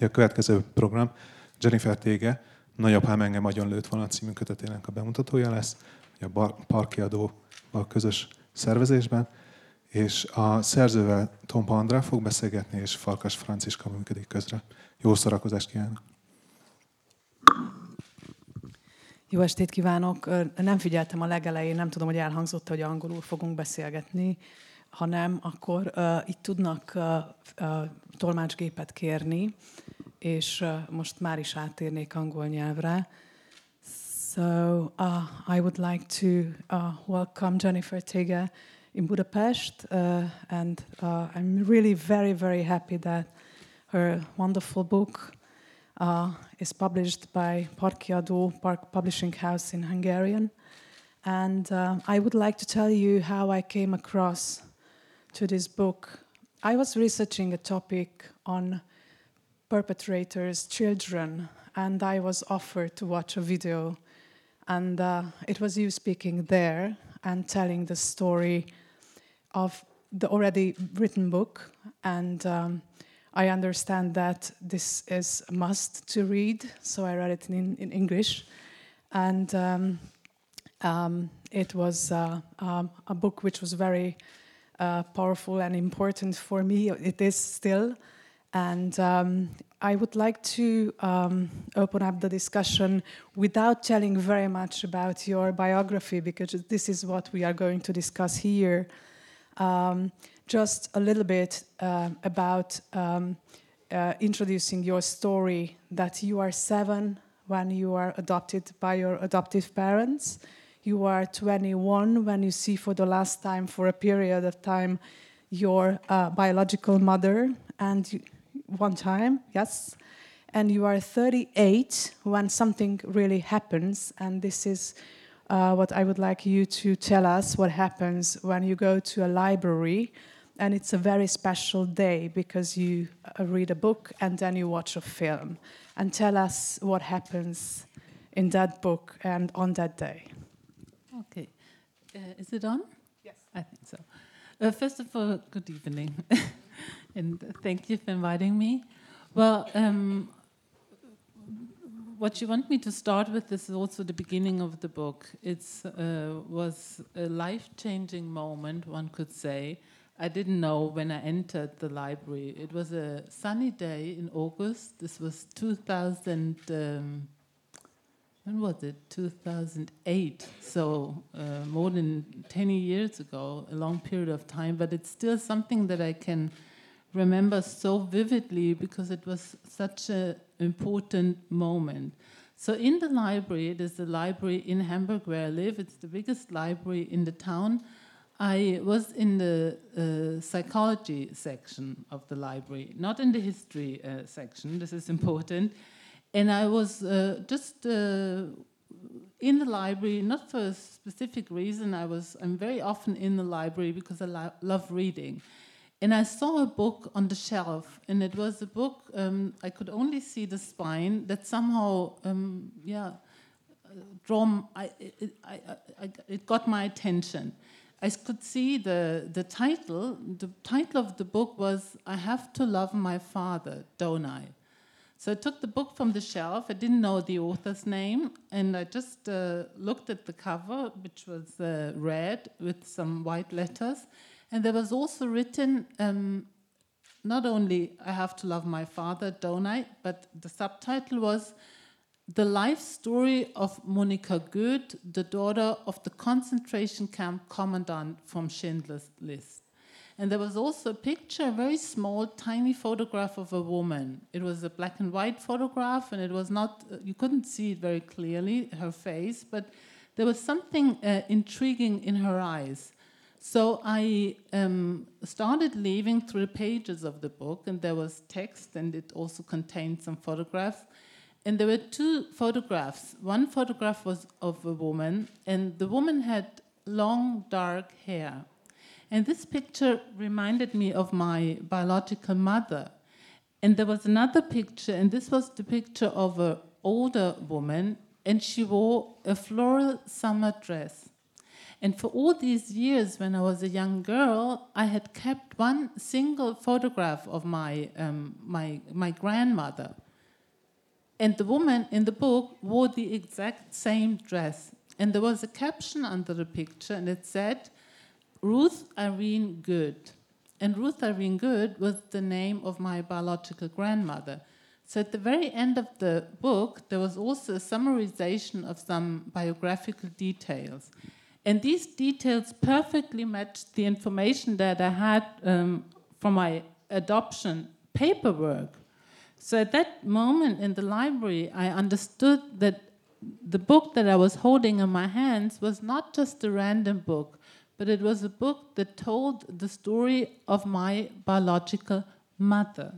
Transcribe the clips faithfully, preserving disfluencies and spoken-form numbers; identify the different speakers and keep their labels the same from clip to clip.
Speaker 1: A következő program Jennifer Tége, Nagyapám engem agyon lőtt volna című kötetének a bemutatója lesz, a Parkiadóval közös szervezésben, és a szerzővel Tompa Andrá fog beszélgetni, és Farkas Franciska működik közre. Jó szórakozást kívánok!
Speaker 2: Jó estét kívánok! Nem figyeltem a legelején, nem tudom, hogy elhangzott, hogy angolul fogunk beszélgetni, ha nem, akkor uh, itt tudnak uh, uh, tolmácsgépet kérni, és uh, most már is áttérnék angol nyelvre. So uh, I would like to uh, welcome Jennifer Tége in Budapest, uh, and uh, I'm really very, very happy that her wonderful book uh, is published by Parkiadó Park Publishing House in Hungarian. And uh, I would like to tell you how I came across to this book. I was researching a topic on perpetrators' children, and I was offered to watch a video, and uh, it was you speaking there and telling the story of the already written book, and um, I understand that this is a must to read, so I read it in, in English, and um, um, it was uh, um, a book which was very uh, powerful and important for me. It is still, and um, I would like to um, open up the discussion without telling very much about your biography, because this is what we are going to discuss here. Um, just a little bit uh, about um, uh, introducing your story, that you are seven when you are adopted by your adoptive parents. You are twenty-one when you see for the last time, for a period of time, your uh, biological mother, and you, one time, yes. And you are thirty-eight when something really happens, and this is uh, what I would like you to tell us, what happens when you go to a library, and it's a very special day because you uh, read a book and then you watch a film. And tell us what happens in that book and on that day.
Speaker 3: Okay. Uh, is it on?
Speaker 2: Yes.
Speaker 3: I think so. Uh, first of all, good evening. And thank you for inviting me. Well, um, what you want me to start with is also the beginning of the book. It uh, was a life-changing moment, one could say. I didn't know when I entered the library. It was a sunny day in August. This was two thousand, um, when was it? two thousand eight, so uh, more than ten years ago, a long period of time, but it's still something that I can remember so vividly because it was such an important moment. So in the library, it is the library in Hamburg where I live. It's the biggest library in the town. I was in the uh, psychology section of the library, not in the history uh, section. This is important. And I was uh, just uh, in the library, not for a specific reason. I was, I'm very often in the library because I lo- love reading. And I saw a book on the shelf, and it was a book, um, I could only see the spine, that somehow, um, yeah, draw, I, it, I, I, it got my attention. I could see the, the title. The title of the book was, I Have to Love My Father, Don't I? So I took the book from the shelf. I didn't know the author's name, and I just uh, looked at the cover, which was uh, red with some white letters. And there was also written, um, not only I have to love my father, don't I? But the subtitle was The Life Story of Monika Goeth, the daughter of the concentration camp commandant from Schindler's List. And there was also a picture, a very small, tiny photograph of a woman. It was a black and white photograph, and it was not, you couldn't see it very clearly, her face, but there was something uh, intriguing in her eyes. So I um, started leaving through the pages of the book, and there was text, and it also contained some photographs. And there were two photographs. One photograph was of a woman, and the woman had long, dark hair. And this picture reminded me of my biological mother. And there was another picture, and this was the picture of an older woman, and she wore a floral summer dress. And for all these years, when I was a young girl, I had kept one single photograph of my, um, my, my grandmother. And the woman in the book wore the exact same dress. And there was a caption under the picture, and it said, Ruth Irene Good. And Ruth Irene Good was the name of my biological grandmother. So at the very end of the book, there was also a summarization of some biographical details. And these details perfectly matched the information that I had um, from my adoption paperwork. So at that moment in the library, I understood that the book that I was holding in my hands was not just a random book, but it was a book that told the story of my biological mother.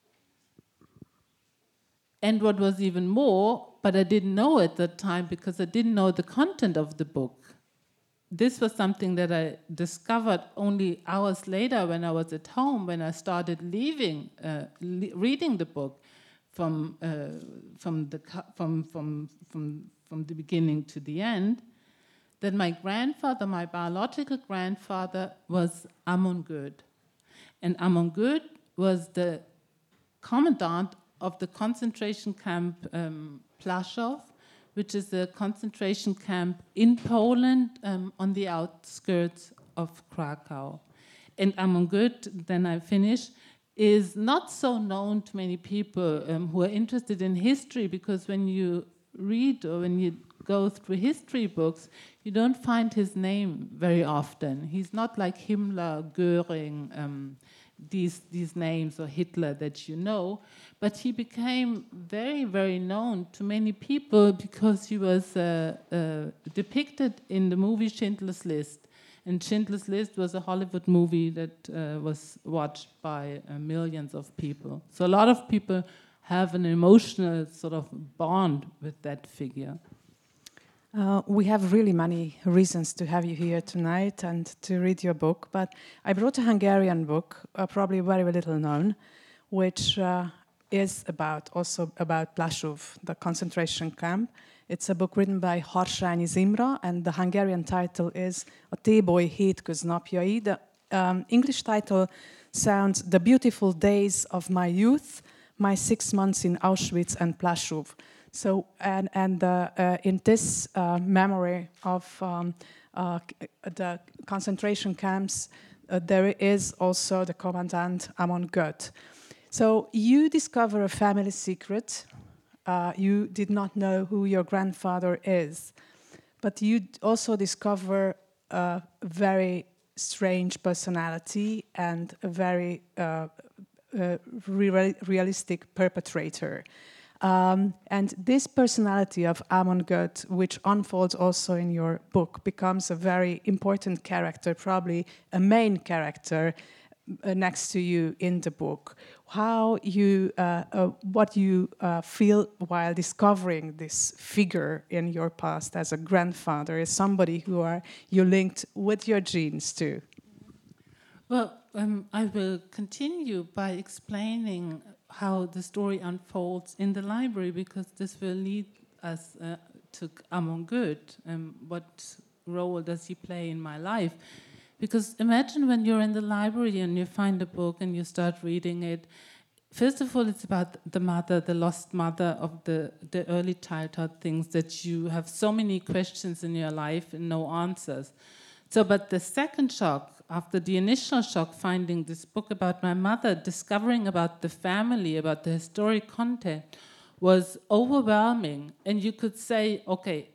Speaker 3: And what was even more, but I didn't know at that time because I didn't know the content of the book. This was something that I discovered only hours later when I was at home, when I started leaving, uh, le reading the book from, uh, from, the, from, from, from, from the beginning to the end, that my grandfather, my biological grandfather, was Amon Good. And Amon Good was the commandant of the concentration camp um, Plaszow, which is a concentration camp in Poland um, on the outskirts of Krakow. And Amon Good, then I finish, is not so known to many people um, who are interested in history, because when you read or when you go through history books, you don't find his name very often. He's not like Himmler, Göring, um, these, these names, or Hitler that you know, but he became very, very known to many people because he was uh, uh, depicted in the movie Schindler's List. And Schindler's List was a Hollywood movie that uh, was watched by uh, millions of people. So a lot of people have an emotional sort of bond with that figure.
Speaker 2: Uh, we have really many reasons to have you here tonight and to read your book, but I brought a Hungarian book, uh, probably very little known, which uh, is about also about Plaszow, the concentration camp. It's a book written by Harsányi Zimra, and the Hungarian title is A Téboly hétköznapjai. The um, English title sounds The Beautiful Days of My Youth, My Six Months in Auschwitz and Plaszow. So, and, and uh, uh, in this uh, memory of um, uh, the concentration camps, uh, there is also the commandant Amon Good. So you discover a family secret. Uh, you did not know who your grandfather is, but you also discover a very strange personality and a very uh, uh, real realistic perpetrator. Um, and this personality of Amon Good, which unfolds also in your book, becomes a very important character, probably a main character uh, next to you in the book. How you, uh, uh, what you uh, feel while discovering this figure in your past as a grandfather, as somebody who are you linked with your genes to?
Speaker 3: Well, um, I will continue by explaining how the story unfolds in the library, because this will lead us uh, to Amon Good. Um, what role does he play in my life? Because imagine when you're in the library and you find a book and you start reading it. First of all, it's about the mother, the lost mother of the, the early childhood things that you have so many questions in your life and no answers. So, but the second shock, after the initial shock, finding this book about my mother, discovering about the family, about the historic content, was overwhelming. And you could say, okay,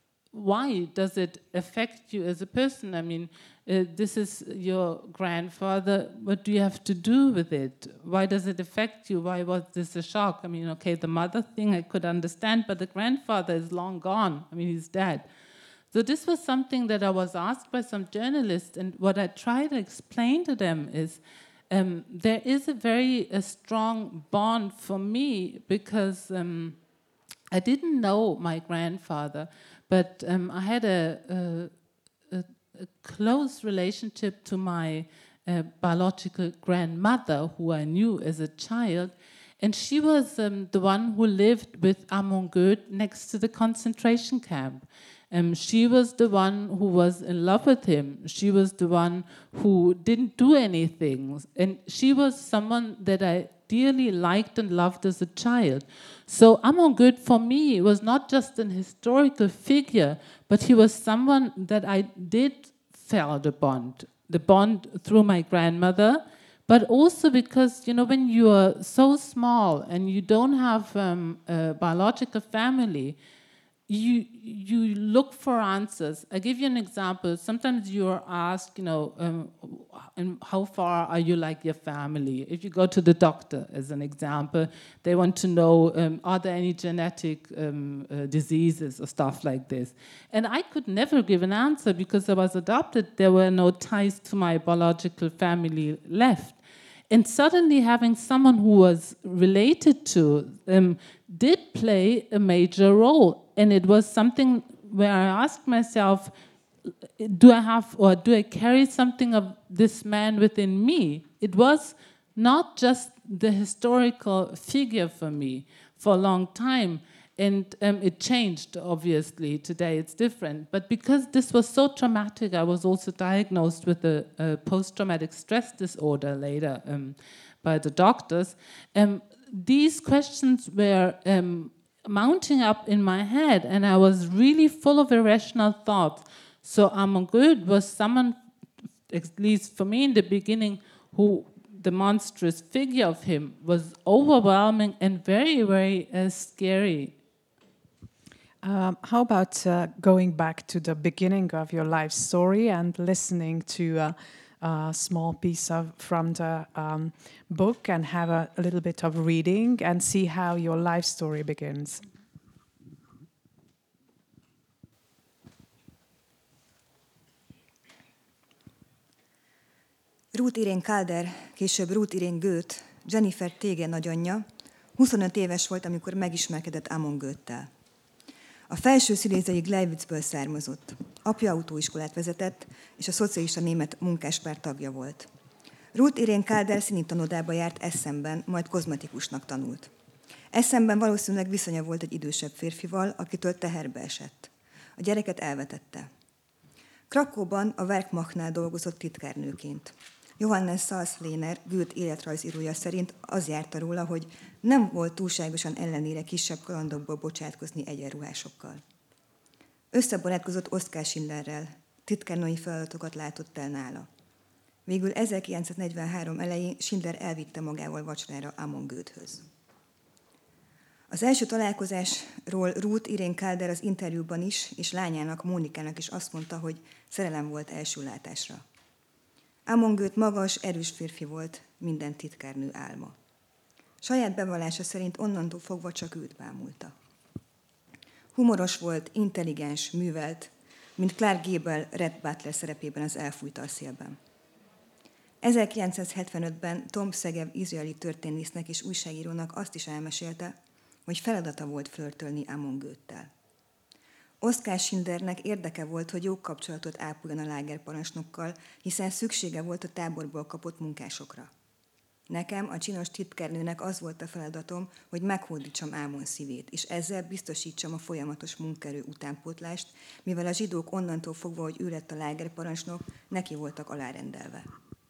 Speaker 3: why does it affect you as a person? I mean, uh, this is your grandfather. What do you have to do with it? Why does it affect you? Why was this a shock? I mean, okay, the mother thing I could understand, but the grandfather is long gone. I mean, he's dead. So this was something that I was asked by some journalists, and what I try to explain to them is um, there is a very a strong bond for me, because um, I didn't know my grandfather, but um, I had a, a, a, a close relationship to my uh, biological grandmother, who I knew as a child, and she was um, the one who lived with Amon Good next to the concentration camp. Um, she was the one who was in love with him. She was the one who didn't do anything. And she was someone that I dearly liked and loved as a child. So Amon Goeth for me was not just an historical figure, but he was someone that I did felt a bond. The bond through my grandmother, but also because, you know, when you are so small and you don't have um, a biological family, you you look for answers. I give you an example. Sometimes you're asked, you know, um, and how far are you like your family? If you go to the doctor, as an example, they want to know, um, are there any genetic um, uh, diseases or stuff like this? And I could never give an answer because I was adopted. There were no ties to my biological family left. And suddenly having someone who was related to um, did play a major role. And it was something where I asked myself, do I have or do I carry something of this man within me? It was not just the historical figure for me for a long time. And um, it changed, obviously. Today it's different. But because this was so traumatic, I was also diagnosed with a, a post-traumatic stress disorder later um, by the doctors. Um, these questions were um, mounting up in my head, and I was really full of irrational thoughts. So Amon Goeth was someone, at least for me in the beginning, who the monstrous figure of him was overwhelming and very, very uh, scary.
Speaker 2: Um, how about uh, going back to the beginning of your life story and listening to uh, a small piece of from the um, book and have a, a little bit of reading and see how your life story begins?
Speaker 4: Ruth Irene Calder, később Ruth Irene Goeth, Jennifer Tege nagyanyja, huszonöt éves volt, amikor megismerkedett Amon Goethttel. A felső sziléziai Gleiwitzből származott. Apja autóiskolát vezetett, és a szocialista német munkáspárt tagja volt. Ruth Irene Calder színitanodába járt Essenben, majd kozmetikusnak tanult. Essenben valószínűleg viszonya volt egy idősebb férfival, akitől teherbe esett. A gyereket elvetette. Krakóban a Werkmachnál dolgozott titkárnőként. Johannes Salzlehner, Goethe életrajzírója szerint az járta róla, hogy nem volt túlságosan ellenére kisebb kalandokból bocsátkozni egyenruhásokkal. Összebarátkozott Oskar Schindlerrel, titkárnői feladatokat látott el nála. Végül ezerkilencszáznegyvenhárom elején Schindler elvitte magával vacsorára Amon Goethhöz. Az első találkozásról Ruth Irene Calder az interjúban is, és lányának, Mónikának is azt mondta, hogy szerelem volt első látásra. Amon Goeth magas, erős férfi volt, minden titkárnő álma. Saját bevallása szerint onnantól fogva csak őt bámulta. Humoros volt, intelligens, művelt, mint Clark Gable Red Butler szerepében az Elfújta a szélben. ezerkilencszázhetvenötben Tom Segev izraeli történésznek és újságírónak azt is elmesélte, hogy feladata volt flörtölni Amon Goethttel. Oskar Schindlernek érdeke volt, hogy jó kapcsolatot ápoljon a lágerparancsnokkal, hiszen szüksége volt a táborból kapott munkásokra. Nekem, a csinos titkárnőnek az volt a feladatom, hogy meghódítsam Amon szívét, és ezzel biztosítsam a folyamatos munkaerő utánpótlást, mivel a zsidók onnantól fogva, hogy ő lett a lágerparancsnok, neki voltak alárendelve.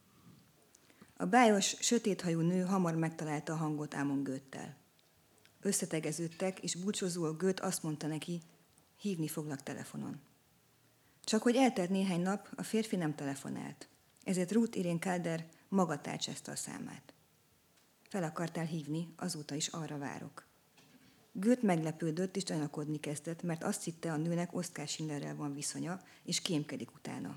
Speaker 4: A bájos, sötéthajú nő hamar megtalálta a hangot Amon Goethttel. Összetegeződtek, és búcsúzóul Goethe azt mondta neki, hívni foglak telefonon. Csak hogy eltelt néhány nap, a férfi nem telefonált. Ezért Ruth Irene Calder maga tárcsázta a számát. Fel akartál hívni, azóta is arra várok. Goethe meglepődött és gyanakodni kezdett, mert azt hitte, a nőnek Oskar Schindlerrel van viszonya, és kémkedik utána.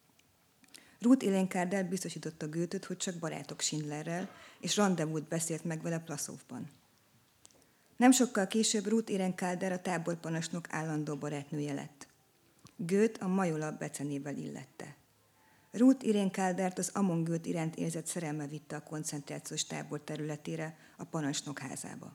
Speaker 4: Ruth Irene Calder biztosította Goethet, hogy csak barátok Schindlerrel, és rendezvút beszélt meg vele Plaszówban. Nem sokkal később Ruth Irene Calder a táborparancsnok állandó barátnője lett. Goethe a Majola becenével illette. Ruth Irene Caldert az Amon Goethe iránt érzett szerelme vitte a koncentrációs tábor területére, a parancsnok házába.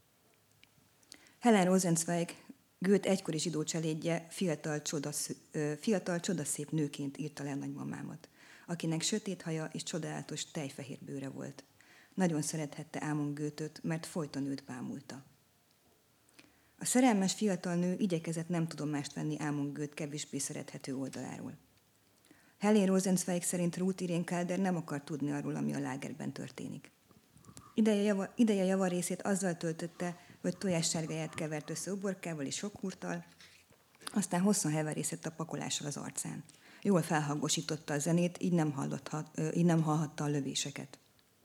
Speaker 4: Helen Rosenzweig, Goethe egykori zsidó cselédje, fiatal, csodasz, fiatal csodaszép nőként írta le nagymamámat, akinek sötét haja és csodálatos tejfehér bőre volt. Nagyon szerethette Amon Goethet, mert folyton őt bámulta. A szerelmes fiatal nő igyekezett nem tudomást venni Amon Goeth kevésbé szerethető oldaláról. Helen Rosenzweig szerint Ruth Irene Calder nem akar tudni arról, ami a lágerben történik. Ideje, java, ideje javarészét azzal töltötte, hogy tojássárgáját kevert össze uborkával és sokhurttal, aztán hosszan heverészett a pakolással az arcán. Jól felhangosította a zenét, így nem, így nem hallhatta a lövéseket.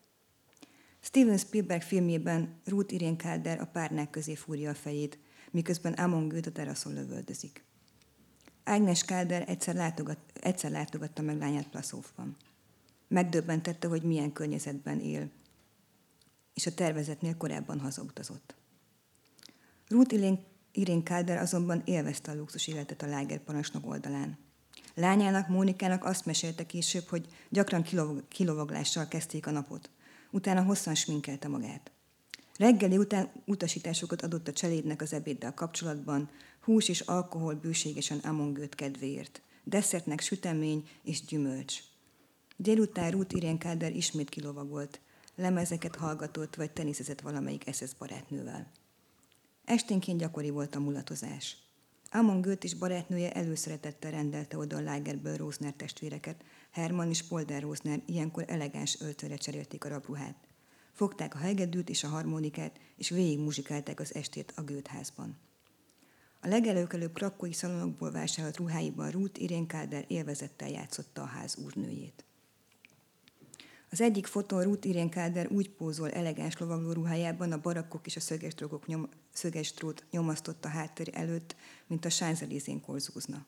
Speaker 4: Steven Spielberg filmjében Ruth Irene Calder a párnák közé fúrja a fejét, miközben Amon Goeth a teraszon lövöldözik. Agnes Calder egyszer, látogat, egyszer látogatta meg lányát Plaszóvban. Megdöbbentette, hogy milyen környezetben él, és a tervezetnél korábban hazautazott. Ruth Irene Calder azonban élvezte a luxus életet a lágerparancsnok oldalán. Lányának, Mónikának azt mesélte később, hogy gyakran kilov- kilovaglással kezdték a napot. Utána hosszan sminkelte magát. Reggeli után utasításokat adott a cselédnek az ebéddel kapcsolatban, hús és alkohol bőségesen Amon Goeth kedvéért, desszertnek sütemény és gyümölcs. Délután Ruth Irene Calder ismét kilovagolt, lemezeket hallgatott vagy teniszezett valamelyik es es barátnővel. Esténként gyakori volt a mulatozás. Amon Goeth és barátnője előszeretettel rendelte oda a lágerből Rosner testvéreket, Hermann és Polder Rosner ilyenkor elegáns öltőre cserélték a rabruhát. Fogták a hegedűt és a harmonikát, és végig muzsikálták az estét a Goeth házban. A legelőkelőbb krakói szalonokból vásárolt ruháiban Ruth Irene Calder élvezettel játszotta a ház úrnőjét. Az egyik fotón Ruth Irene Calder úgy pózol elegáns lovagló ruhájában, a barakkok és a szögesdrógok nyom, szögesdrót nyomasztott a háttér előtt, mint a Champs-Élysén korzózna.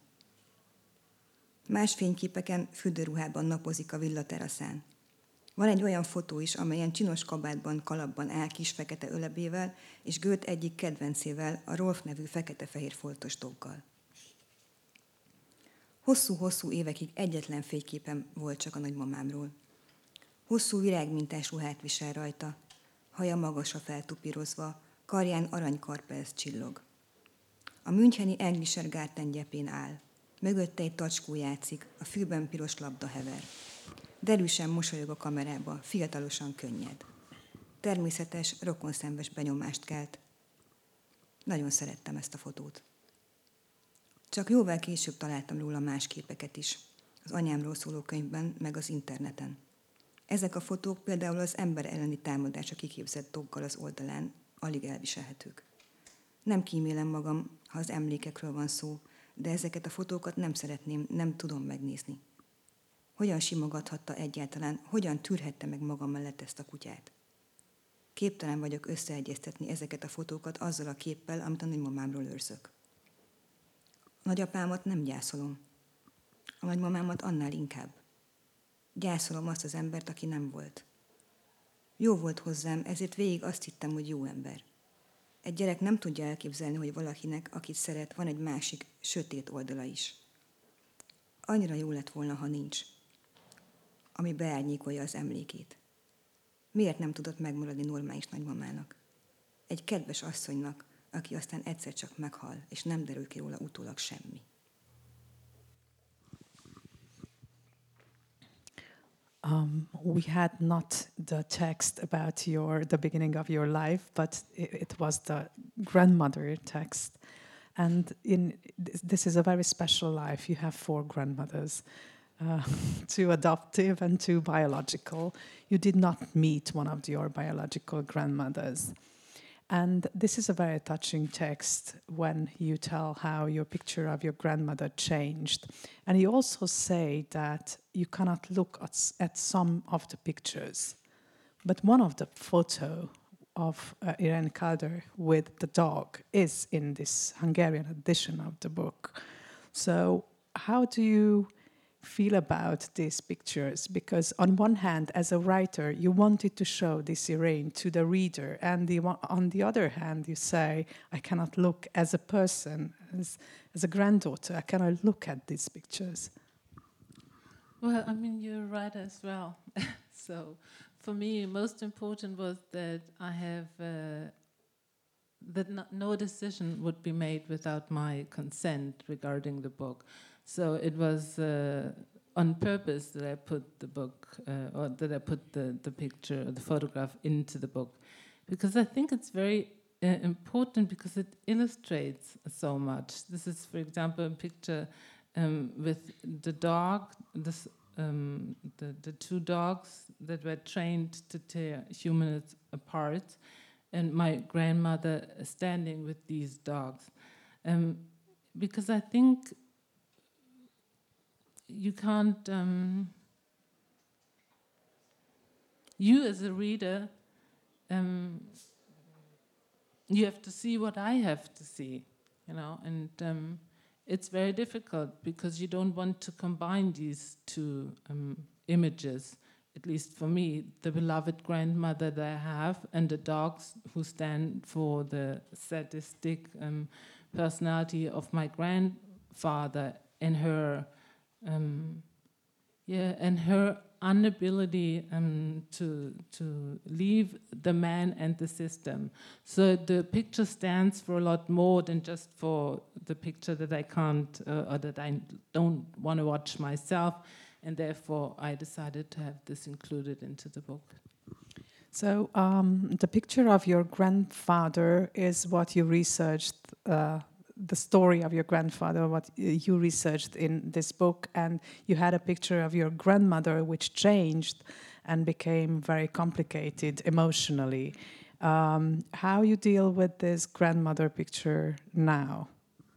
Speaker 4: Más fényképeken fürdőruhában napozik a villa teraszán. Van egy olyan fotó is, amelyen csinos kabátban, kalapban áll kis fekete ölebével, és Goeth egyik kedvencével, a Rolf nevű fekete-fehér foltos doggal. Hosszú-hosszú évekig egyetlen fényképen volt csak a nagymamámról. Hosszú virágmintás ruhát visel rajta, haja magasra feltupírozva, karján aranykarperc csillog. A müncheni Englischer Garten gyepén áll. Mögötte egy tacskó játszik, a fűben piros labda hever. Derűsen mosolyog a kamerába, fiatalosan könnyed. Természetes, rokonszenves benyomást kelt. Nagyon szerettem ezt a fotót. Csak jóval később találtam róla más képeket is, az anyámról szóló könyvben, meg az interneten. Ezek a fotók például az ember elleni támadásra kiképzett doggal az oldalán alig elviselhetők. Nem kímélem magam, ha az emlékekről van szó, de ezeket a fotókat nem szeretném, nem tudom megnézni. Hogyan simogathatta egyáltalán, hogyan tűrhette meg magam mellett ezt a kutyát? Képtelen vagyok összeegyeztetni ezeket a fotókat azzal a képpel, amit a nagymamámról őrzök. A nagyapámat nem gyászolom. A nagymamámat annál inkább. Gyászolom azt az embert, aki nem volt. Jó volt hozzám, ezért végig azt hittem, hogy jó ember. Egy gyerek nem tudja elképzelni, hogy valakinek, akit szeret, van egy másik, sötét oldala is. Annyira jó lett volna, ha nincs, ami beárnyékolja az emlékét. Miért nem tudott megmaradni normális nagymamának? Egy kedves asszonynak, aki aztán egyszer csak meghal, és nem derül ki róla utólag semmi.
Speaker 2: Um, we had not the text about your the beginning of your life, but it, it was the grandmother text. And in this is a very special life. You have four grandmothers, uh, two adoptive and two biological. You did not meet one of your biological grandmothers. And this is a very touching text when you tell how your picture of your grandmother changed. And you also say that you cannot look at, at some of the pictures, but one of the photo of uh, Irene Calder with the dog is in this Hungarian edition of the book. So how do you feel about these pictures? Because on one hand, as a writer, you wanted to show this Irene to the reader, and the, on the other hand, you say, I cannot look as a person, as, as a granddaughter, I cannot look at these pictures.
Speaker 3: Well, I mean, you're right as well. So for me, most important was that I have, uh, that no, no decision would be made without my consent regarding the book. So it was uh, on purpose that I put the book, uh, or that I put the, the picture, or the photograph into the book, because I think it's very uh, important because it illustrates so much. This is, for example, a picture um, with the dog, this, um, the, the two dogs that were trained to tear humans apart, and my grandmother standing with these dogs. Um, because I think you can't, um, you as a reader, um, you have to see what I have to see, you know, and um, it's very difficult because you don't want to combine these two um, images, at least for me, the beloved grandmother that I have and the dogs who stand for the sadistic um, personality of my grandfather and her, um, yeah, and her inability um, to to leave the man and the system. So the picture stands for a lot more than just for the picture that I can't uh, or that I don't want to watch myself, and therefore I decided to have this included into the book.
Speaker 2: So um, the picture of your grandfather is what you researched, uh, the story of your grandfather, what you researched in this book, and you had a picture of your grandmother which changed and became very complicated emotionally. Um, how you deal with this grandmother picture now?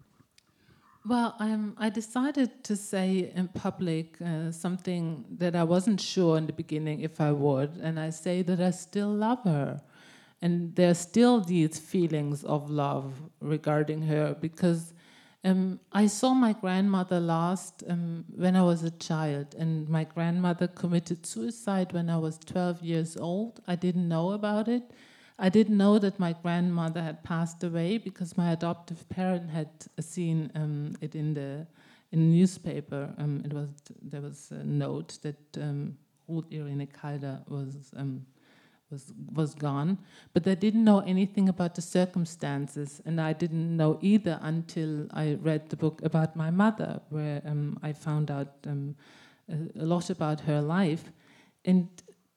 Speaker 3: Well, um, I decided to say in public uh, something that I wasn't sure in the beginning if I would, and I say that I still love her. And there are still these feelings of love regarding her because um, I saw my grandmother last um, when I was a child, and my grandmother committed suicide when I was twelve years old. I didn't know about it. I didn't know that my grandmother had passed away because my adoptive parent had seen um, it in the in the newspaper. Um, it was there was a note that um, Ruth Irene Calder was. Um, was was gone, but they didn't know anything about the circumstances, and I didn't know either until I read the book about my mother, where um, I found out um, a, a lot about her life, and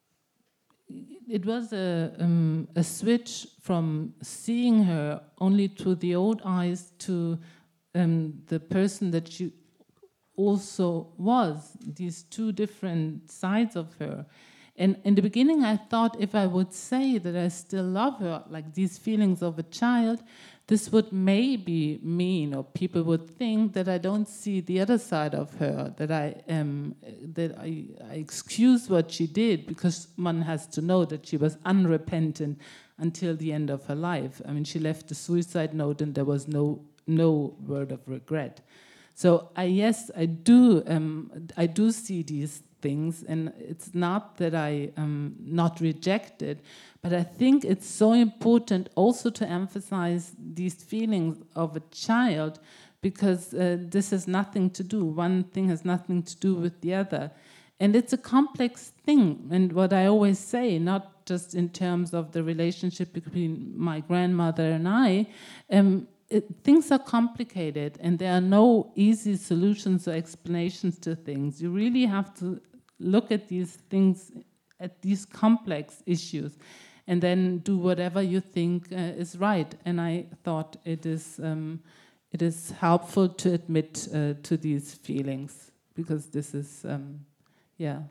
Speaker 3: it was a um, a switch from seeing her only through the old eyes to um, the person that she also was. These two different sides of her. And in the beginning, I thought if I would say that I still love her, like these feelings of a child, this would maybe mean, or people would think that I don't see the other side of her, that I um, that I, I excuse what she did, because one has to know that she was unrepentant until the end of her life. I mean, she left a suicide note, and there was no no word of regret. So I yes, I do um, I do see these things, and it's not that I am not rejected, but I think it's so important also to emphasize these feelings of a child, because uh, this has nothing to do, one thing has nothing to do with the other. And it's a complex thing, and what I always say, not just in terms of the relationship between my grandmother and I, um, It, things are complicated, and there are no easy solutions or explanations to things. You really have to look at these things, at these complex issues, and then do whatever you think uh, is right. And I thought it is um, it is helpful to admit uh, to these feelings, because this is um, yeah.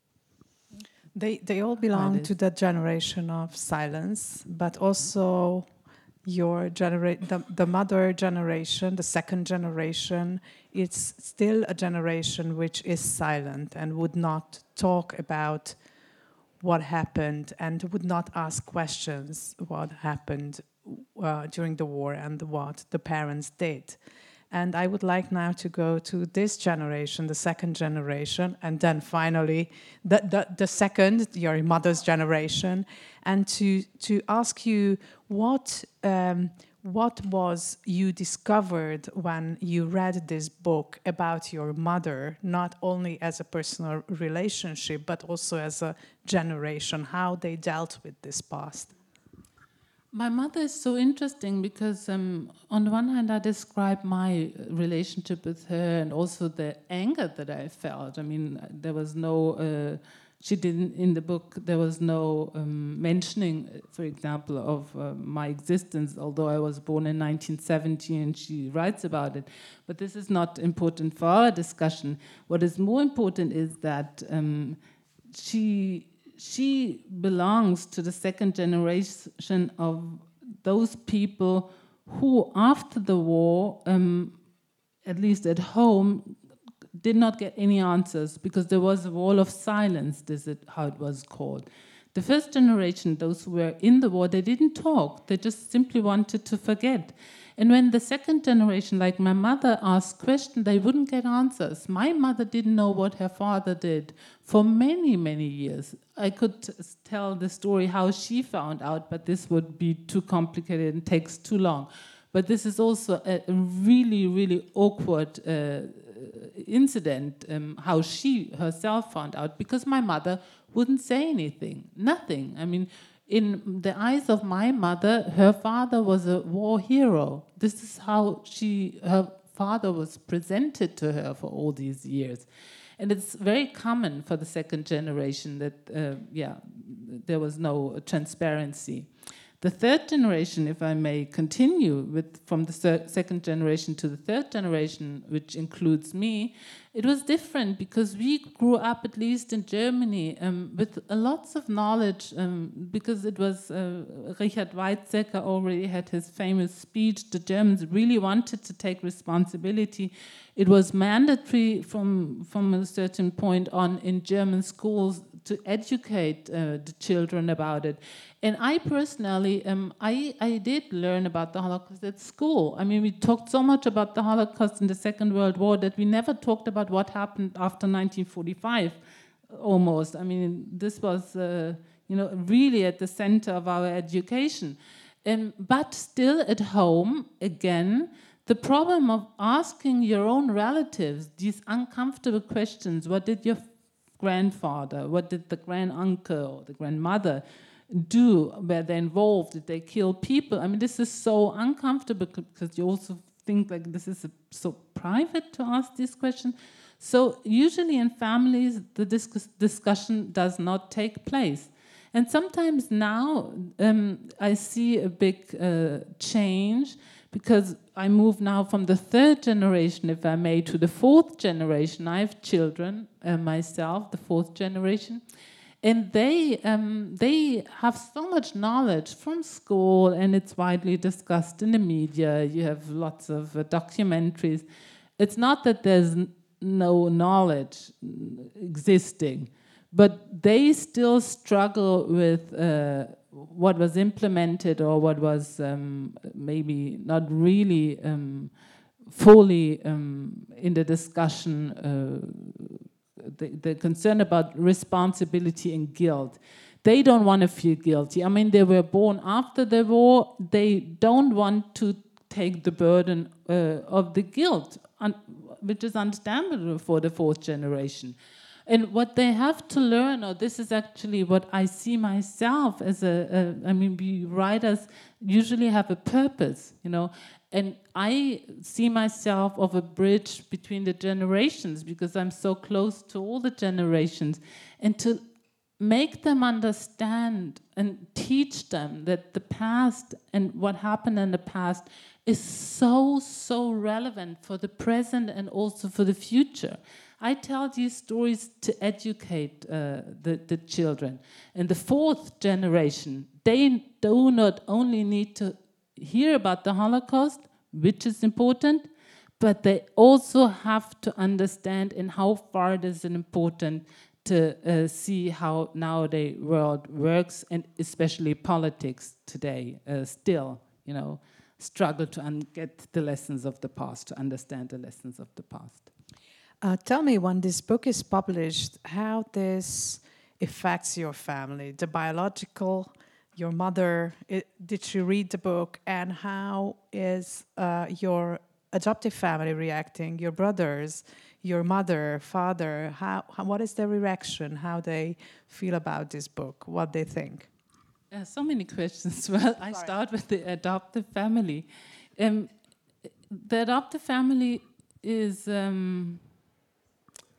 Speaker 2: They they all belong to that generation of silence, but also your genera- the, the mother generation, the second generation, it's still a generation which is silent and would not talk about what happened and would not ask questions what happened uh, during the war and what the parents did. And I would like now to go to this generation, the second generation, and then finally the, the, the second, your mother's generation, and to to ask you what um, what was you discovered when you read this book about your mother, not only as a personal relationship, but also as a generation, how they dealt with this past.
Speaker 3: My mother is so interesting because um, on the one hand I describe my relationship with her and also the anger that I felt. I mean, there was no uh, She didn't, in the book, there was no um, mentioning, for example, of uh, my existence, although I was born in nineteen seventy and she writes about it. But this is not important for our discussion. What is more important is that um, she, she belongs to the second generation of those people who, after the war, um, at least at home, did not get any answers because there was a wall of silence, this is how it was called. The first generation, those who were in the war, they didn't talk. They just simply wanted to forget. And when the second generation, like my mother, asked questions, they wouldn't get answers. My mother didn't know what her father did for many, many years. I could t- tell the story how she found out, but this would be too complicated and takes too long. But this is also a really, really awkward uh, incident, um, how she herself found out, because my mother wouldn't say anything, nothing. I mean, in the eyes of my mother, her father was a war hero. This is how she, her father was presented to her for all these years. And it's very common for the second generation that, uh, yeah, there was no transparency. The third generation, if I may continue with from the third, second generation to the third generation, which includes me, it was different because we grew up, at least in Germany, um, with uh, lots of knowledge um, because it was, uh, Richard Weizsäcker already had his famous speech, the Germans really wanted to take responsibility. It was mandatory from, from a certain point on in German schools to educate uh, the children about it. And I personally, um, I, I did learn about the Holocaust at school. I mean, we talked so much about the Holocaust in the Second World War that we never talked about what happened after nineteen forty-five, almost. I mean, this was, uh, you know, really at the center of our education. Um, but still at home, again, the problem of asking your own relatives these uncomfortable questions, what did your grandfather, what did the granduncle or the grandmother do? Were they involved? Did they kill people? I mean, this is so uncomfortable because you also think like this is a, so private to ask these questions. So usually in families, the discuss discussion does not take place. And sometimes now um, I see a big uh, change because I move now from the third generation, if I may, to the fourth generation. I have children uh, myself, the fourth generation. And they um, they have so much knowledge from school, and it's widely discussed in the media. You have lots of uh, documentaries. It's not that there's n no knowledge existing, but they still struggle with uh, what was implemented or what was um, maybe not really um, fully um, in the discussion. Uh, The, the concern about responsibility and guilt. They don't want to feel guilty. I mean, they were born after the war. They don't want to take the burden uh, of the guilt, which is understandable for the fourth generation. And what they have to learn, or this is actually what I see myself as a, a I mean, we writers usually have a purpose, you know, and I see myself of a bridge between the generations because I'm so close to all the generations, and to make them understand and teach them that the past and what happened in the past is so, so relevant for the present and also for the future. I tell these stories to educate uh, the, the children. And the fourth generation, they do not only need to hear about the Holocaust, which is important, but they also have to understand in how far it is important to uh, see how nowadays world works, and especially politics today uh, still, you know, struggle to get the lessons of the past, to understand the lessons of the past.
Speaker 2: Uh, tell me, when this book is published, how this affects your family, the biological, your mother, it, did she read the book, and how is uh, your adoptive family reacting, your brothers, your mother, father, how, how, what is their reaction, how they feel about this book, what they think?
Speaker 3: Uh, so many questions. Well, I
Speaker 2: Sorry.
Speaker 3: start with the adoptive family. Um, the adoptive family is... Um,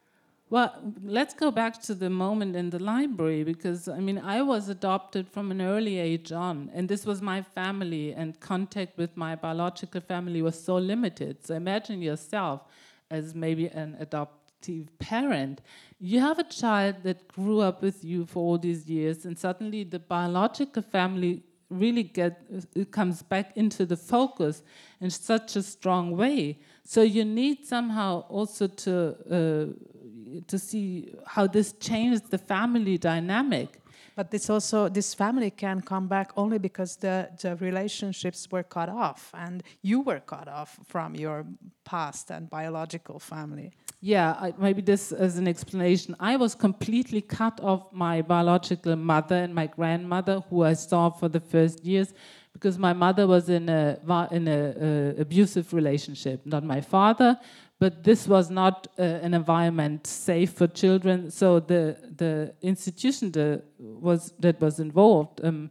Speaker 3: Well, let's go back to the moment in the library, because I mean, I was adopted from an early age on, and this was my family, and contact with my biological family was so limited. So imagine yourself as maybe an adoptive parent. You have a child that grew up with you for all these years, and suddenly the biological family really get it comes back into the focus in such a strong way. So you need somehow also to uh, to see how this changed the family dynamic.
Speaker 2: But this also, this family can come back only because the, the relationships were cut off and you were cut off from your past and biological family.
Speaker 3: Yeah, I, maybe this as an explanation. I was completely cut off my biological mother and my grandmother, who I saw for the first years, because my mother was in a in a uh, abusive relationship. Not my father, but this was not uh, an environment safe for children. So the the institution the, was that was involved. Um,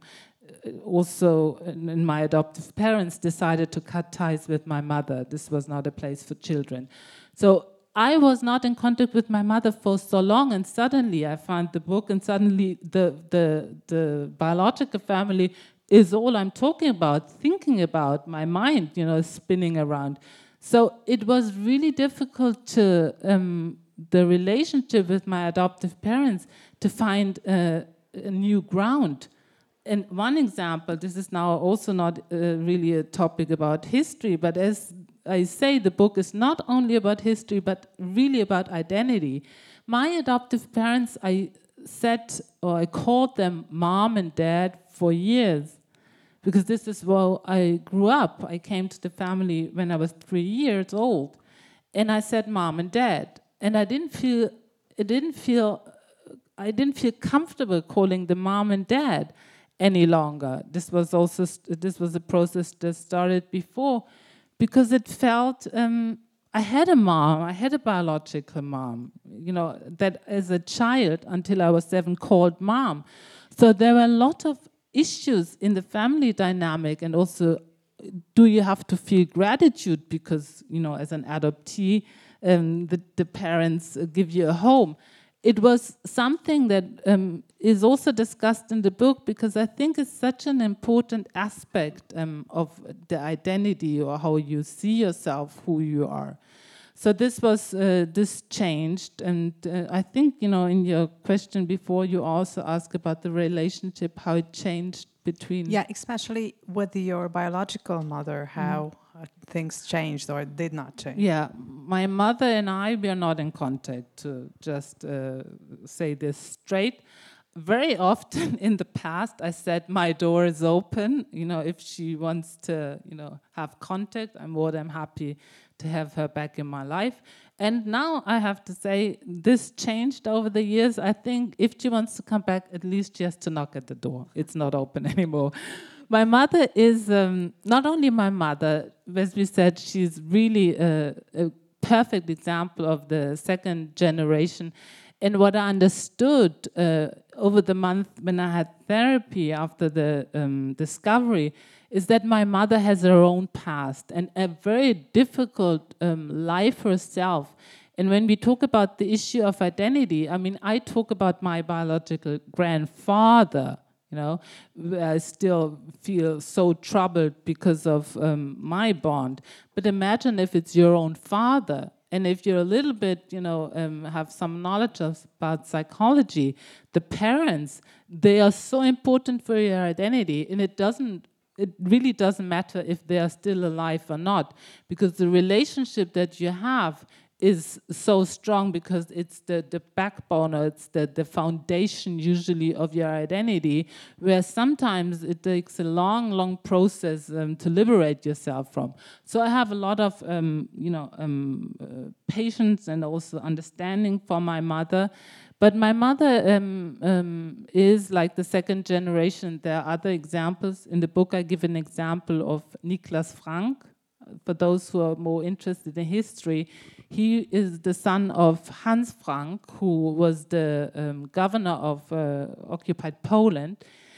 Speaker 3: also, in, in my adoptive parents decided to cut ties with my mother. This was not a place for children. So I was not in contact with my mother for so long, and suddenly I found the book, and suddenly the the the biological family is all I'm talking about, thinking about, my mind, you know, spinning around. So it was really difficult to um, the relationship with my adoptive parents to find uh, a new ground. And one example, this is now also not uh, really a topic about history, but as I say, the book is not only about history, but really about identity. My adoptive parents, I said, or I called them mom and dad for years, because this is where I grew up. I came to the family when I was three years old, and I said mom and dad, and I didn't feel, it didn't feel, I didn't feel comfortable calling them mom and dad any longer. This was also, this was a process that started before, because it felt, um, I had a mom, I had a biological mom, you know, that as a child, until I was seven, called mom. So there were a lot of issues in the family dynamic, and also, do you have to feel gratitude because, you know, as an adoptee, um, the, the parents uh, give you a home. It was something that um, is also discussed in the book, because I think it's such an important aspect um, of the identity, or how you see yourself, who you are. So this was, uh, this changed, and uh, I think, you know, in your question before, you also asked about the relationship, how it changed between...
Speaker 2: Yeah, especially with your biological mother, how mm. uh, things changed or did not change.
Speaker 3: Yeah, my mother and I, we are not in contact, to just uh, say this straight. Very often in the past, I said, my door is open. You know, if she wants to, you know, have contact, I'm more than happy to have her back in my life. And now I have to say, this changed over the years. I think if she wants to come back, at least she has to knock at the door. It's not open anymore. My mother is um, not only my mother, as we said, she's really a, a perfect example of the second generation. And what I understood uh, over the month when I had therapy after the um, discovery is that my mother has her own past and a very difficult um, life herself. And when we talk about the issue of identity, I mean, I talk about my biological grandfather, you know, I still feel so troubled because of um, my bond. But imagine if it's your own father. And if you're a little bit, you know, um, have some knowledge of, about psychology, the parents, they are so important for your identity, and it doesn't, it really doesn't matter if they are still alive or not, because the relationship that you have is so strong, because it's the, the backbone, or it's the, the foundation usually of your identity, where sometimes it takes a long, long process um, to liberate yourself from. So I have a lot of, um, you know, um, uh, patience and also understanding for my mother. But my mother um, um, is like the second generation. There are other examples. In the book, I give an example of Niklas Frank. For those who are more interested in history, he is the son of Hans Frank, who was the um, governor of uh, occupied Poland.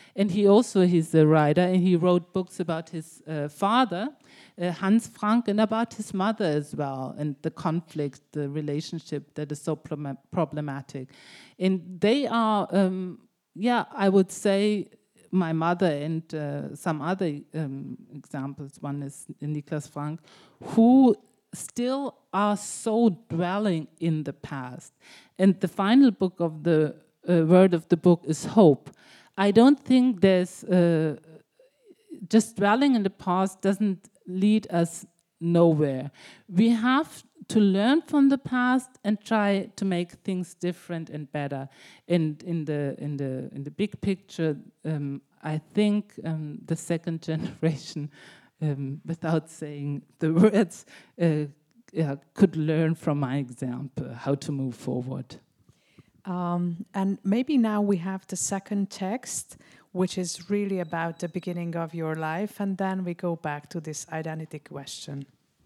Speaker 3: And he also, he's a writer, and he wrote books about his uh, father, uh, Hans Frank, and about his mother as well, and the conflict, the relationship that is so problem- problematic. And they are, um, yeah, I would say, my mother and uh, some other um, examples, one is Niklas Frank, who still are so dwelling in the past. And the final book of the uh, word of the book is hope. I don't think there's uh, just dwelling in the past doesn't lead us nowhere. We have to learn from the past and try to make things different and better. And in the in the in the big picture, um, I think um, the second generation, um, without saying the words, uh, yeah, could learn from my example how to move forward.
Speaker 2: Um, and maybe now we have the second text, which is really about the beginning of your life, and then we go back to this identity question.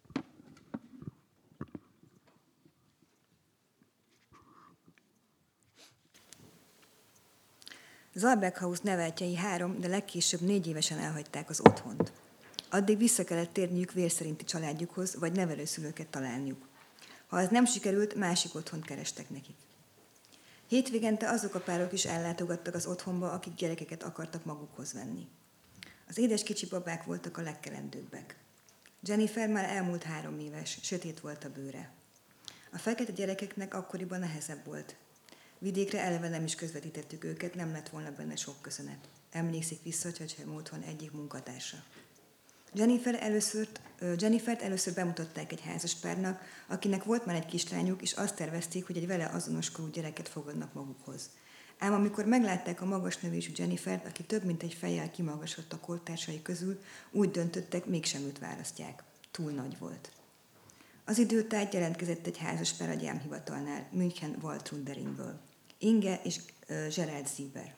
Speaker 4: Zalberghaus neveltjei három, de legkésőbb négy évesen elhagyták az otthont. Addig vissza kellett térniük vérszerinti családjukhoz, vagy nevelőszülőket találniuk. Ha ez nem sikerült, másik otthont kerestek nekik. Hétvégente azok a párok is ellátogattak az otthonba, akik gyerekeket akartak magukhoz venni. Az édes kicsi babák voltak a legkelendőbbek. Jennifer már elmúlt három éves, sötét volt a bőre. A fekete gyerekeknek akkoriban nehezebb volt. Vidékre eleve nem is közvetítettük őket, nem lett volna benne sok köszönet. Emlékszik vissza Csecsemő otthon egyik munkatársa. Jennifer először, Jennifert először bemutatták egy házas párnak, akinek volt már egy kislányuk, és azt tervezték, hogy egy vele azonos korú gyereket fogadnak magukhoz. Ám amikor meglátták a magas növésű Jennifert, aki több mint egy fejjel kimagasott a kortársai közül, úgy döntöttek, mégsem őt választják. Túl nagy volt. Az idő tájt jelentkezett egy házas pár a gyámhivatalnál, München Waltrunderingből. Inge és uh, Gerald Sieber.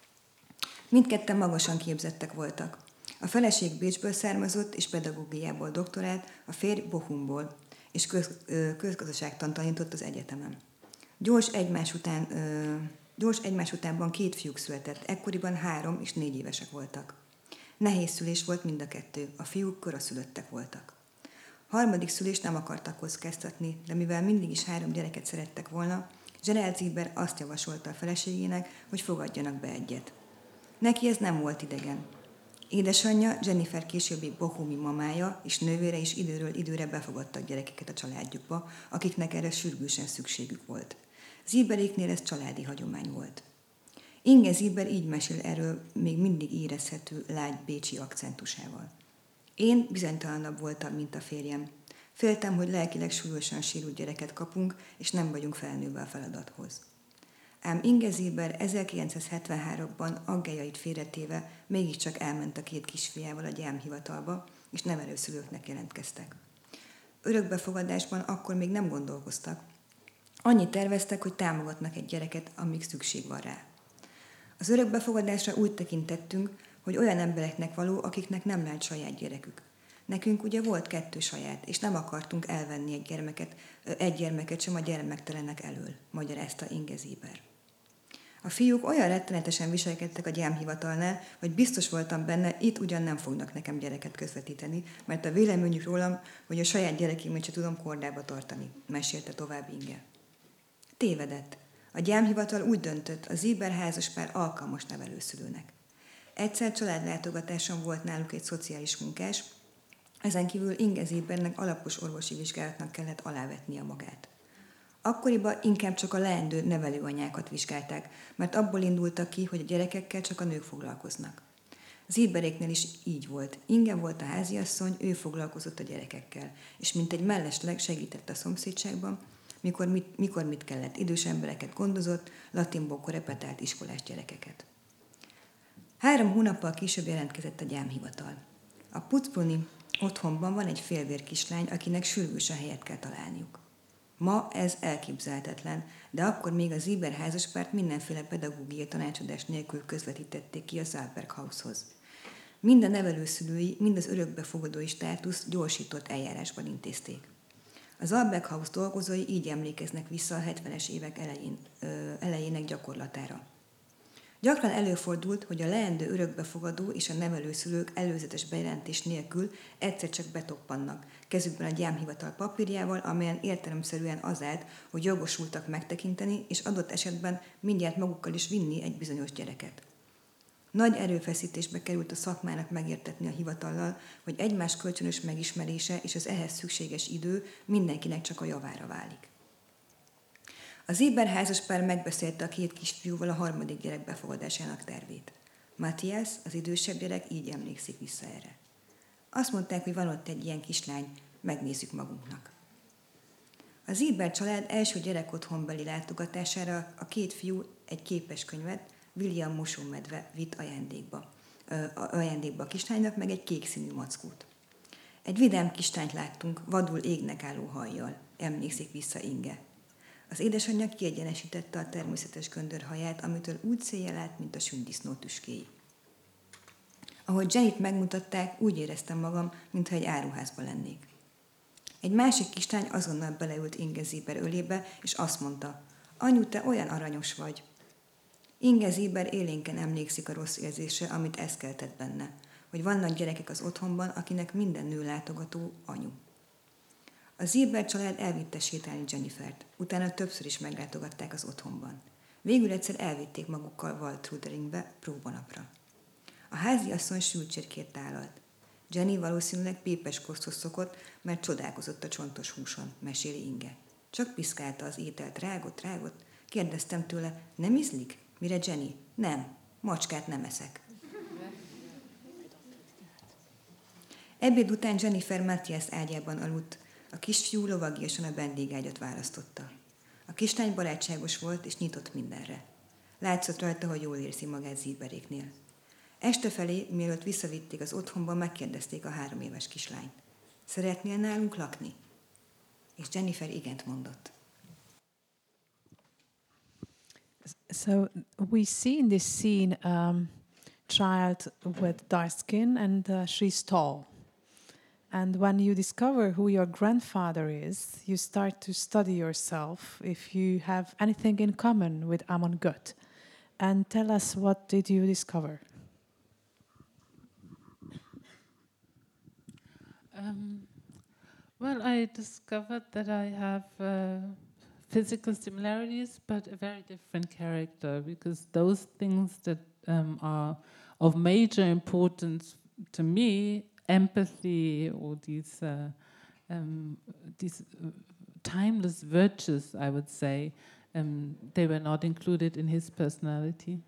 Speaker 4: Mindketten magasan képzettek voltak. A feleség Bécsből származott, és pedagógiából doktorált, a férj Bochumból, és köz, uh, közgazdaságtant tanított az egyetemen. Gyors egymás után, uh, gyors egymás utánban két fiúk született, ekkoriban három és négy évesek voltak. Nehéz szülés volt mind a kettő, a fiúk koraszülöttek voltak. Harmadik szülést nem akartak kockáztatni, de mivel mindig is három gyereket szerettek volna, Gerald Sieber azt javasolta a feleségének, hogy fogadjanak be egyet. Neki ez nem volt idegen. Édesanyja, Jennifer későbbi bohumi mamája és nővére is időről időre befogadtak gyerekeket a családjukba, akiknek erre sürgősen szükségük volt. Sieberéknél ez családi hagyomány volt. Inge Sieber így mesél erről még mindig érezhető lágy bécsi akcentusával. Én bizonytalanabb voltam, mint a férjem. Féltem, hogy lelkileg súlyosan sérült gyereket kapunk, és nem vagyunk felnőve a feladathoz. Ám Inge Sieber ezerkilencszázhetvenháromban aggályait félretéve mégiscsak elment a két kisfiával a gyámhivatalba, és nevelőszülőknek jelentkeztek. Örökbefogadásban akkor még nem gondolkoztak. Annyit terveztek, hogy támogatnak egy gyereket, amíg szükség van rá. Az örökbefogadásra úgy tekintettünk, hogy olyan embereknek való, akiknek nem lehet saját gyerekük. Nekünk ugye volt kettő saját, és nem akartunk elvenni egy gyermeket, egy gyermeket sem a gyermektelenek elől, magyarázta Inge Sieber. A fiúk olyan rettenetesen viselkedtek a gyámhivatalnál, hogy biztos voltam benne, itt ugyan nem fognak nekem gyereket közvetíteni, mert a véleményük rólam, hogy a saját gyerekémet sem tudom kordába tartani, mesélte tovább Inge. Tévedett. A gyámhivatal úgy döntött, a Sieber házaspár alkalmas nevelőszülőnek. Egyszer családlátogatáson volt náluk egy szociális munkás, ezen kívül Inge Siebernek alapos orvosi vizsgálatnak kellett alávetnie magát. Akkoriban inkább csak a leendő nevelőanyákat vizsgálták, mert abból indultak ki, hogy a gyerekekkel csak a nők foglalkoznak. Sieberéknél is így volt. Inge volt a háziasszony, ő foglalkozott a gyerekekkel, és mint egy mellesleg segített a szomszédságban, mikor mit, mikor mit kellett, idős embereket gondozott, latinból korepetált iskolás gyerekeket. Három hónappal később jelentkezett a gyámhivatal. A Putzbrunni otthonban van egy félvér kislány, akinek sürgősen helyet kell találniuk. Ma ez elképzelhetetlen, de akkor még a Sieber házaspárt mindenféle pedagógiai tanácsadás nélkül közvetítették ki a Zalberghaushoz. Mind a nevelőszülői, mind az örökbefogadói státusz gyorsított eljárásban intézték. A Zalberghaus dolgozói így emlékeznek vissza a hetvenes évek elején, ö, elejének gyakorlatára. Gyakran előfordult, hogy a leendő örökbefogadó és a nevelőszülők előzetes bejelentés nélkül egyszer csak betoppannak, kezükben a gyámhivatal papírjával, amelyen értelemszerűen az állt, hogy jogosultak megtekinteni, és adott esetben mindjárt magukkal is vinni egy bizonyos gyereket. Nagy erőfeszítésbe került a szakmának megértetni a hivatallal, hogy egymás kölcsönös megismerése és az ehhez szükséges idő mindenkinek csak a javára válik. Az Eber házaspár megbeszélte a két kisfiúval a harmadik gyerek befogadásának tervét. Matthias, az idősebb gyerek, így emlékszik vissza erre. Azt mondták, hogy van ott egy ilyen kislány, megnézzük magunknak. Az Eber család első gyerekotthonbeli látogatására a két fiú egy képeskönyvet, William Mosómedve vitt ajándékba. Ö, ajándékba a kislánynak, meg egy kék színű mackót. Egy vidám kislányt láttunk, vadul égnek álló hajjal, emlékszik vissza Inge. Az édesanyja kiegyenesítette a természetes göndörhaját, amitől úgy széjjel állt, mint a sündisznó tüskéi. Ahogy Jennyt megmutatták, úgy éreztem magam, mintha egy áruházban lennék. Egy másik kislány azonnal beleült Inge Zéber ölébe, és azt mondta, anyu, te olyan aranyos vagy. Inge Zéber élénken emlékszik a rossz érzésre, amit ez keltett benne, hogy vannak gyerekek az otthonban, akinek minden nő látogató anyu. A Zéber család elvitte sétálni Jennifert, utána többször is meglátogatták az otthonban. Végül egyszer elvitték magukkal Waltruderingbe próbanapra. A háziasszony sülcsérkét állalt. Jenny valószínűleg pépes koszthoz szokott, mert csodálkozott a csontos húson, meséli Inge. Csak piszkálta az ételt, rágott, rágott. Kérdeztem tőle, nem ízlik? Mire Jenny? Nem, macskát nem eszek. Ebéd után Jennifer Matthias ágyában aludt, a kisfiú lovagiasan a vendégágyat választotta. A kislány barátságos volt és nyitott mindenre. Látszott rajta, hogy jól érzi magát Zéberéknél. Este felé, mielőtt visszavitték az otthonba, megkérdezték a három éves kislányt. Szeretnél nálunk lakni? És Jennifer igent mondott.
Speaker 2: So we see in this scene um, child with dark skin and uh, she's tall. And when you discover who your grandfather is, you start to study yourself if you have anything in common with Amon Göt. And tell us, what did you discover?
Speaker 3: Um, well, I discovered that I have uh, physical similarities, but a very different character, because those things that um, are of major importance to me, empathy or these uh, um, these uh, timeless virtues, I would say, um, they were not included in his personality.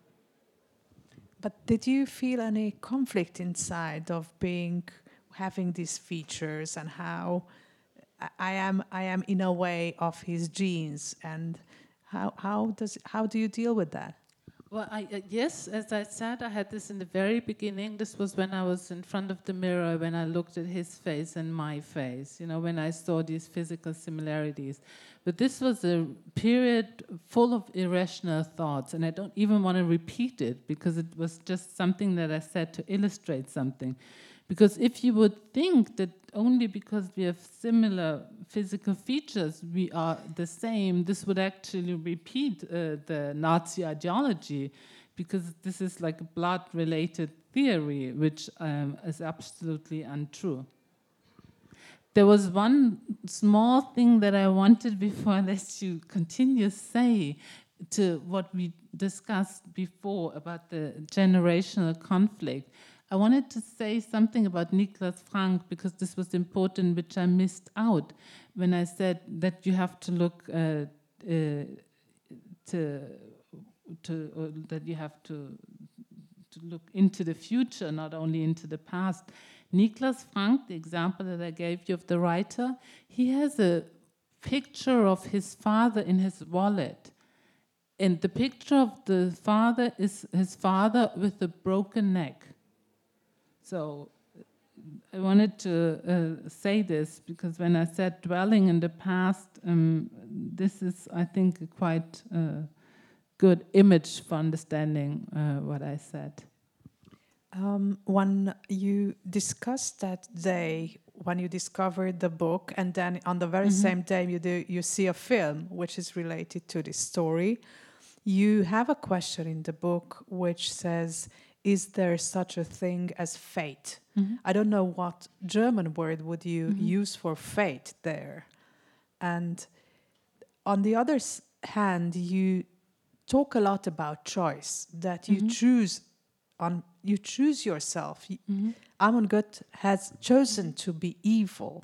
Speaker 2: But did you feel any conflict inside of being having these features and how I am I am in a way of his genes, and how how does how do you deal with that?
Speaker 3: Well, I, uh, yes, as I said, I had this in the very beginning. This was when I was in front of the mirror, when I looked at his face and my face, you know, when I saw these physical similarities. But this was a period full of irrational thoughts, and I don't even want to repeat it because it was just something that I said to illustrate something. Because if you would think that only because we have similar physical features we are the same, this would actually repeat uh, the Nazi ideology, because this is like a blood-related theory, which um, is absolutely untrue. There was one small thing that I wanted before I let you continue say to what we discussed before about the generational conflict. I wanted to say something about Niklas Frank, because this was important, which I missed out when I said that you have to look uh, uh, to, to or that you have to to look into the future, not only into the past. Niklas Frank, the example that I gave you of the writer, he has a picture of his father in his wallet. And the picture of the father is his father with a broken neck. So I wanted to uh, say this because when I said dwelling in the past, um, this is, I think, a quite uh, good image for understanding uh, what I said.
Speaker 2: Um, when you discussed that day, when you discovered the book, and then on the very mm-hmm. same day you do, you see a film which is related to this story, you have a question in the book which says, is there such a thing as fate?
Speaker 3: Mm-hmm.
Speaker 2: I don't know what German word would you
Speaker 3: Mm-hmm.
Speaker 2: use for fate there. And on the other s- hand, you talk a lot about choice, that you
Speaker 3: Mhm.
Speaker 2: choose on you choose yourself. Y-
Speaker 3: Mm-hmm.
Speaker 2: Amon Gut has chosen to be evil.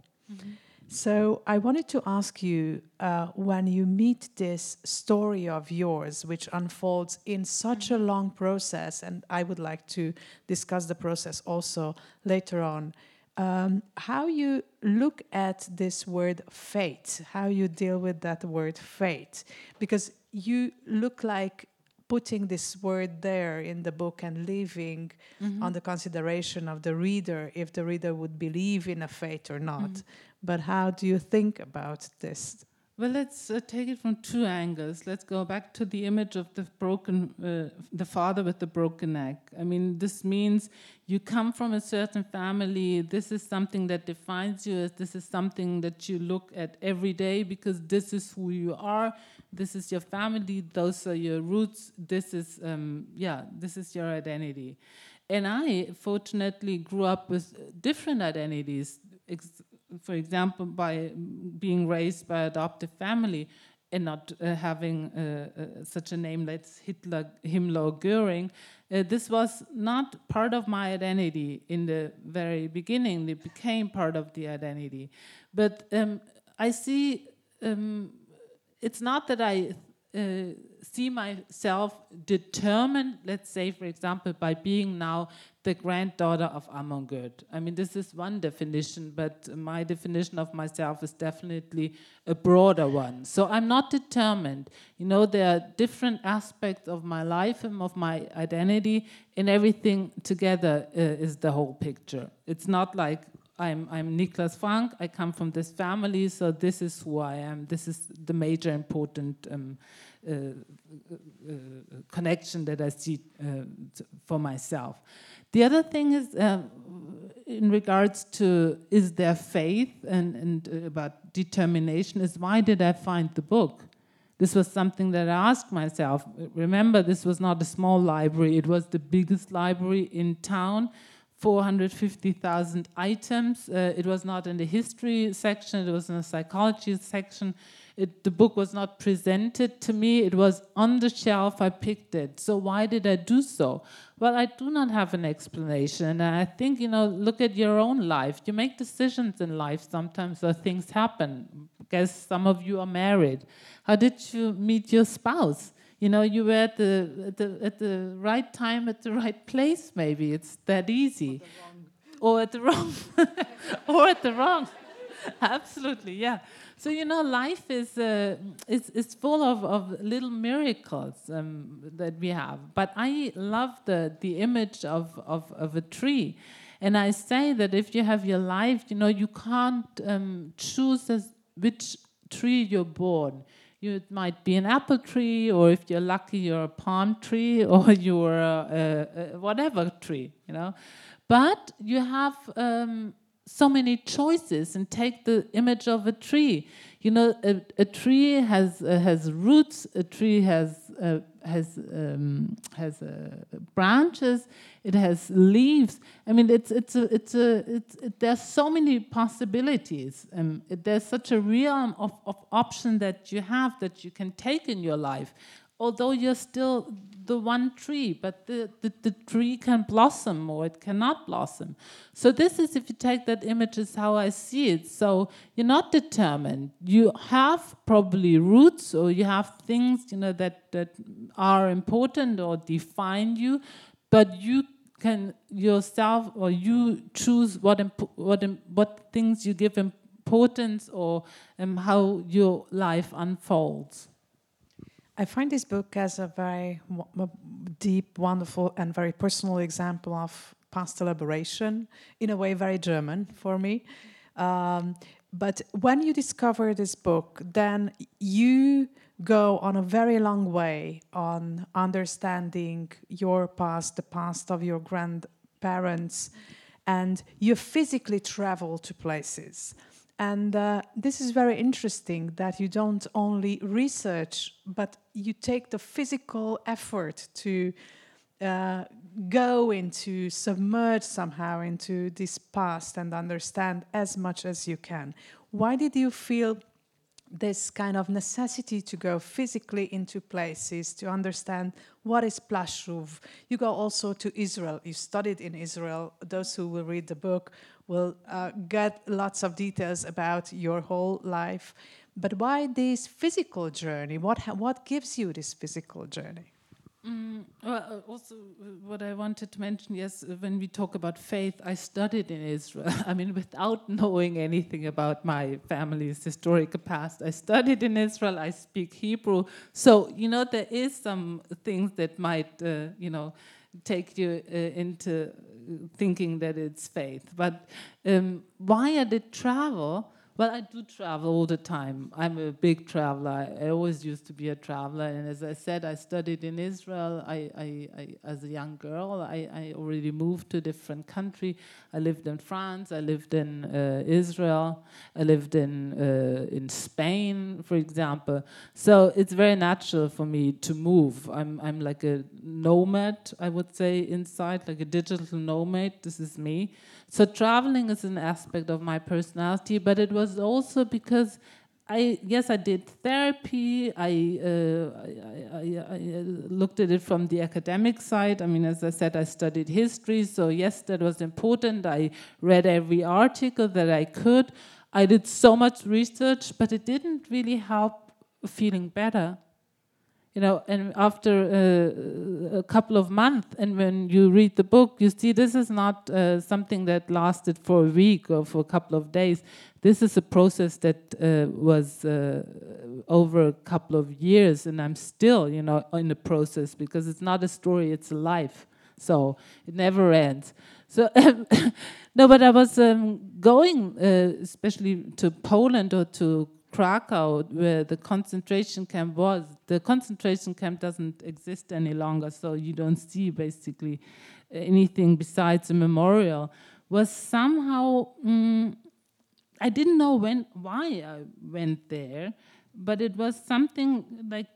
Speaker 2: So I wanted to ask you, uh, when you meet this story of yours, which unfolds in such a long process, and I would like to discuss the process also later on, um, how you look at this word fate, how you deal with that word fate, because you look like putting this word there in the book and leaving
Speaker 3: Mm-hmm.
Speaker 2: on the consideration of the reader if the reader would believe in a fate or not.
Speaker 3: Mhm.
Speaker 2: But how do you think about this?
Speaker 3: Well, let's uh, take it from two angles. Let's go back to the image of the broken, uh, the father with the broken neck. I mean, this means you come from a certain family. This is something that defines you. As this is something that you look at every day because this is who you are. This is your family. Those are your roots. This is, um, yeah, this is your identity. And I, fortunately, grew up with different identities. Ex- for example, by being raised by adoptive family and not uh, having uh, uh, such a name like Hitler, Himmler, or Göring, uh, this was not part of my identity in the very beginning. It became part of the identity. But um, I see, um, it's not that I uh, see myself determined, let's say, for example, by being now the granddaughter of Amon Gut. I mean, this is one definition, but my definition of myself is definitely a broader one. So I'm not determined. You know, there are different aspects of my life and of my identity, and everything together uh, is the whole picture. It's not like I'm, I'm Niklas Frank, I come from this family, so this is who I am. This is the major important um, uh, uh, connection that I see uh, t- for myself. The other thing is, uh, in regards to is there faith and, and uh, about determination, is why did I find the book? This was something that I asked myself. Remember, this was not a small library. It was the biggest library in town, four hundred fifty thousand items. Uh, it was not in the history section. It was in the psychology section. It, the book was not presented to me. It was on the shelf. I picked it. So why did I do so? Well, I do not have an explanation. And I think, you know, look at your own life. You make decisions in life sometimes, so things happen. I guess some of you are married. How did you meet your spouse? You know, you were at the, at the at the right time, at the right place, maybe. It's that easy. Or at the wrong. or at the wrong. Absolutely, yeah. So, you know, life is uh, is, is full of, of little miracles um, that we have. But I love the, the image of, of, of a tree. And I say that if you have your life, you know, you can't um, choose as which tree you're born. You, it might be an apple tree, or if you're lucky, you're a palm tree, or you're a, a, a whatever tree, you know. But you have um, so many choices. And take the image of a tree. You know, a, a tree has uh, has roots. A tree has uh, has um, has uh, branches. It has leaves. I mean, it's it's a it's a it's it, there's so many possibilities. Um, it, there's such a realm of of option that you have that you can take in your life. Although you're still the one tree, but the, the, the tree can blossom or it cannot blossom. So this is, if you take that image, is how I see it. So you're not determined. You have probably roots, or you have things, you know, that, that are important or define you, but you can yourself, or you choose what imp- what im- what things you give importance, or um, how your life unfolds.
Speaker 2: I find this book as a very w- deep, wonderful, and very personal example of past elaboration, in a way very German for me. Um, but when you discover this book, then you go on a very long way on understanding your past, the past of your grandparents, and you physically travel to places. And uh, this is very interesting that you don't only research, but you take the physical effort to uh, go into, submerge somehow into this past and understand as much as you can. Why did you feel this kind of necessity to go physically into places to understand what is Plashuv? You go also to Israel. You studied in Israel. Those who will read the book will uh, get lots of details about your whole life. But why this physical journey? What ha- what gives you this physical journey?
Speaker 3: Mm, well, uh, also, uh, what I wanted to mention, yes, uh, when we talk about faith, I studied in Israel. I mean, without knowing anything about my family's historical past, I studied in Israel. I speak Hebrew. So, you know, there is some things that might, uh, you know, take you uh, into thinking that it's faith. But um, why I did travel? Well, I do travel all the time. I'm a big traveler. I always used to be a traveler. And as I said, I studied in Israel. I, I, I as a young girl, I, I already moved to a different country. I lived in France. I lived in uh, Israel. I lived in uh, in Spain, for example. So it's very natural for me to move. I'm I'm like a nomad, I would say, inside, like a digital nomad. This is me. So traveling is an aspect of my personality, but it was also because I, yes, I did therapy. I, uh, I, I, I looked at it from the academic side. I mean, as I said, I studied history, so yes, that was important. I read every article that I could. I did so much research, but it didn't really help feeling better. You know, and after uh, a couple of months, and when you read the book, you see this is not uh, something that lasted for a week or for a couple of days. This is a process that uh, was uh, over a couple of years, and I'm still, you know, in the process, because it's not a story, it's a life. So it never ends. So no, but I was um, going, uh, especially to Poland or to Krakow, where the concentration camp was. The concentration camp doesn't exist any longer, so you don't see basically anything besides a memorial. Was somehow mm, I didn't know when why I went there, but it was something like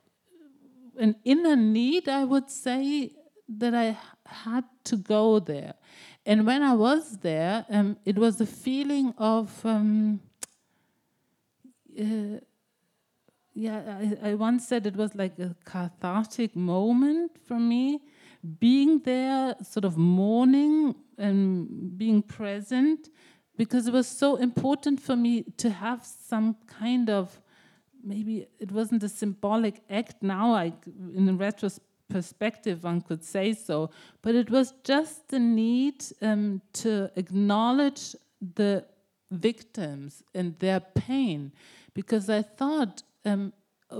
Speaker 3: an inner need, I would say, that I had to go there. And when I was there, um, it was a feeling of um, Uh, yeah, I, I once said it was like a cathartic moment for me, being there, sort of mourning and being present, because it was so important for me to have some kind of, maybe it wasn't a symbolic act now, I, in a retrospective one could say so, but it was just the need um, to acknowledge the victims and their pain. Because I thought, um,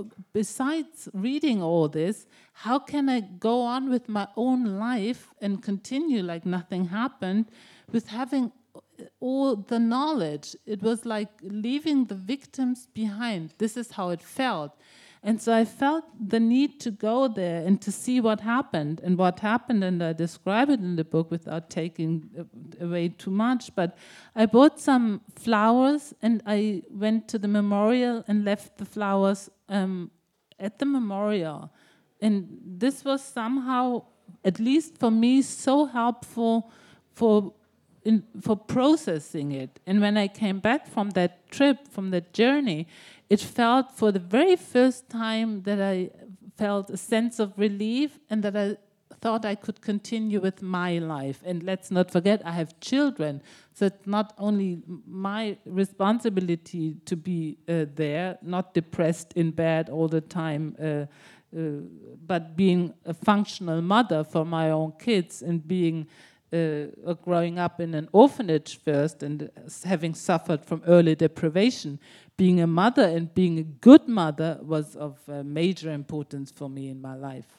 Speaker 3: besides reading all this, how can I go on with my own life and continue like nothing happened with having all the knowledge? It was like leaving the victims behind. This is how it felt. And so I felt the need to go there and to see what happened. And what happened, and I describe it in the book without taking away too much, but I bought some flowers and I went to the memorial and left the flowers um, at the memorial. And this was somehow, at least for me, so helpful for in, for processing it. And when I came back from that trip, from that journey, it felt for the very first time that I felt a sense of relief and that I thought I could continue with my life. And let's not forget, I have children. So it's not only my responsibility to be uh, there, not depressed in bed all the time, uh, uh, but being a functional mother for my own kids and being Uh, growing up in an orphanage first and uh, having suffered from early deprivation, being a mother and being a good mother was of uh, major importance for me in my life.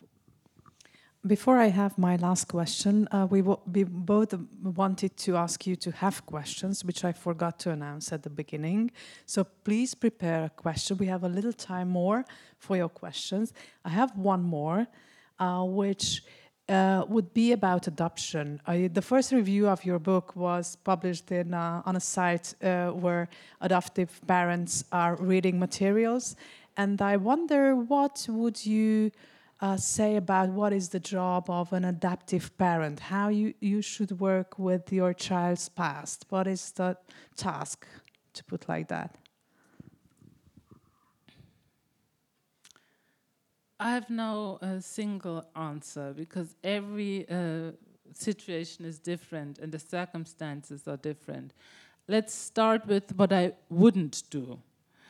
Speaker 2: Before I have my last question, uh, we, w- we both wanted to ask you to have questions, which I forgot to announce at the beginning. So please prepare a question. We have a little time more for your questions. I have one more, uh, which Uh, would be about adoption. Uh, the first review of your book was published in, uh, on a site uh, where adoptive parents are reading materials. and I wonder what would you uh, say about what is the job of an adaptive parent? How you, you should work with your child's past? What is the task, to put like that?
Speaker 3: I have no uh, single answer because every uh, situation is different and the circumstances are different. Let's start with what I wouldn't do.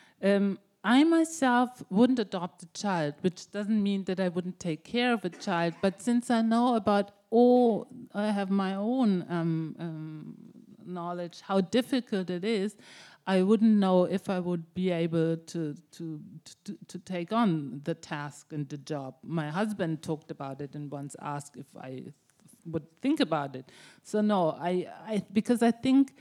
Speaker 3: Um, I myself wouldn't adopt a child, which doesn't mean that I wouldn't take care of a child, but since I know about all, I have my own um, um, knowledge, how difficult it is, I wouldn't know if I would be able to, to, to, to take on the task and the job. My husband talked about it and once asked if I th- would think about it. So no, I, I because I think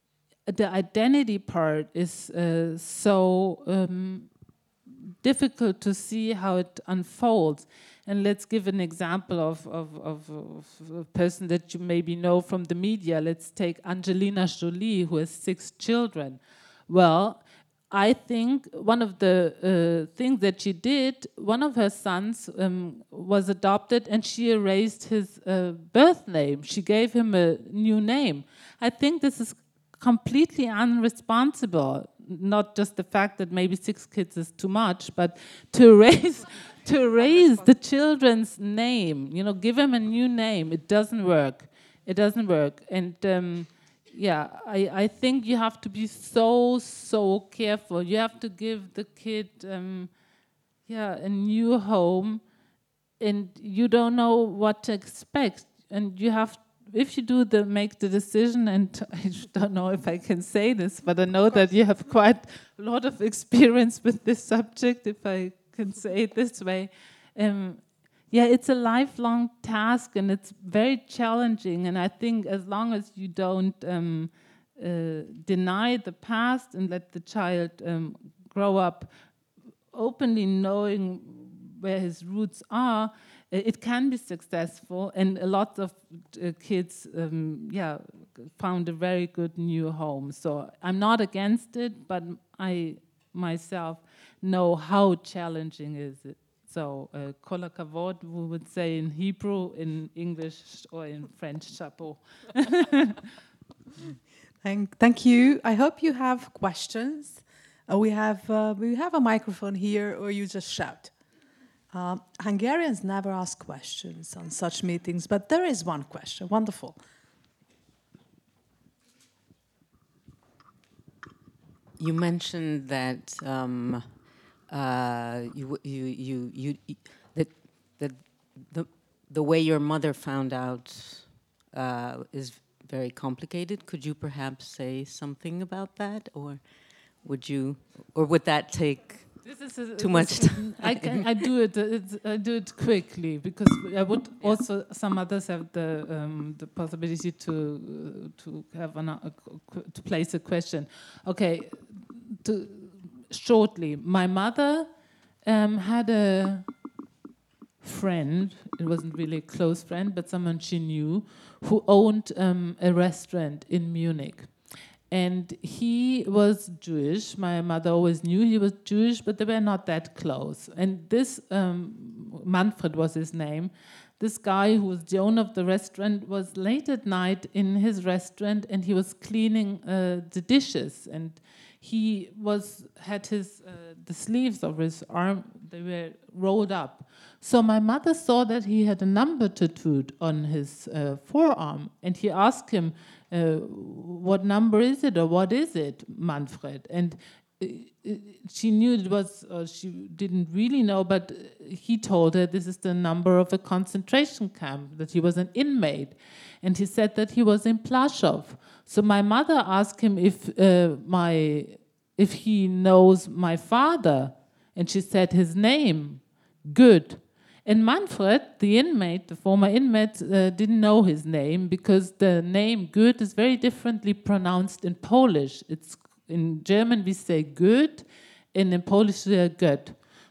Speaker 3: the identity part is uh, so um, difficult to see how it unfolds. And let's give an example of, of, of, of a person that you maybe know from the media. Let's take Angelina Jolie, who has six children. Well, I think one of the uh, things that she did, one of her sons um, was adopted and she erased his uh, birth name. She gave him a new name. I think this is completely unresponsible. Not just the fact that maybe six kids is too much, but to erase, to erase the children's name, you know, give them a new name. It doesn't work. It doesn't work. And um, yeah, I, I think you have to be so, so careful. You have to give the kid, um, yeah, a new home, and you don't know what to expect. And you have, if you do the make the decision, and I don't know if I can say this, but I know that you have quite a lot of experience with this subject, if I can say it this way. Um, yeah, it's a lifelong task and it's very challenging. And I think as long as you don't um, uh, deny the past and let the child um, grow up openly knowing where his roots are, it can be successful. And a lot of uh, kids, um, yeah, found a very good new home. So I'm not against it, but I myself know how challenging is it. So, uh, kol hakavod, we would say in Hebrew, in English, or in French, chapeau.
Speaker 2: Thank, thank you. I hope you have questions. Uh, we have uh, we have a microphone here, or you just shout. Um, Hungarians never ask questions on such meetings, but there is one question. Wonderful.
Speaker 5: You mentioned that um, uh, you, you, you, you, that, that the, the way your mother found out uh, is very complicated. Could you perhaps say something about that, or would you, or would that take
Speaker 3: This is a,
Speaker 5: too much time?
Speaker 3: I, can, I do it. It's, I do it quickly because I would also. Some others have the um, the possibility to uh, to have an, uh, to place a question. Okay, to shortly. My mother um, had a friend. It wasn't really a close friend, but someone she knew who owned um, a restaurant in Munich. And he was Jewish. My mother always knew he was Jewish, but they were not that close. And this, um, Manfred was his name, this guy who was the owner of the restaurant was late at night in his restaurant and he was cleaning uh, the dishes. And he was had his uh, the sleeves of his arm, they were rolled up. So my mother saw that he had a number tattooed on his uh, forearm. And he asked him, Uh, what number is it, or what is it, Manfred? And uh, she knew it was, or she didn't really know, but he told her this is the number of a concentration camp, that he was an inmate. And he said that he was in Plaszow. So my mother asked him if uh, my, if he knows my father, and she said his name, Good. And Manfred, the inmate, the former inmate, uh, didn't know his name because the name Good is very differently pronounced in Polish. It's in German we say Good, and in Polish we say Good.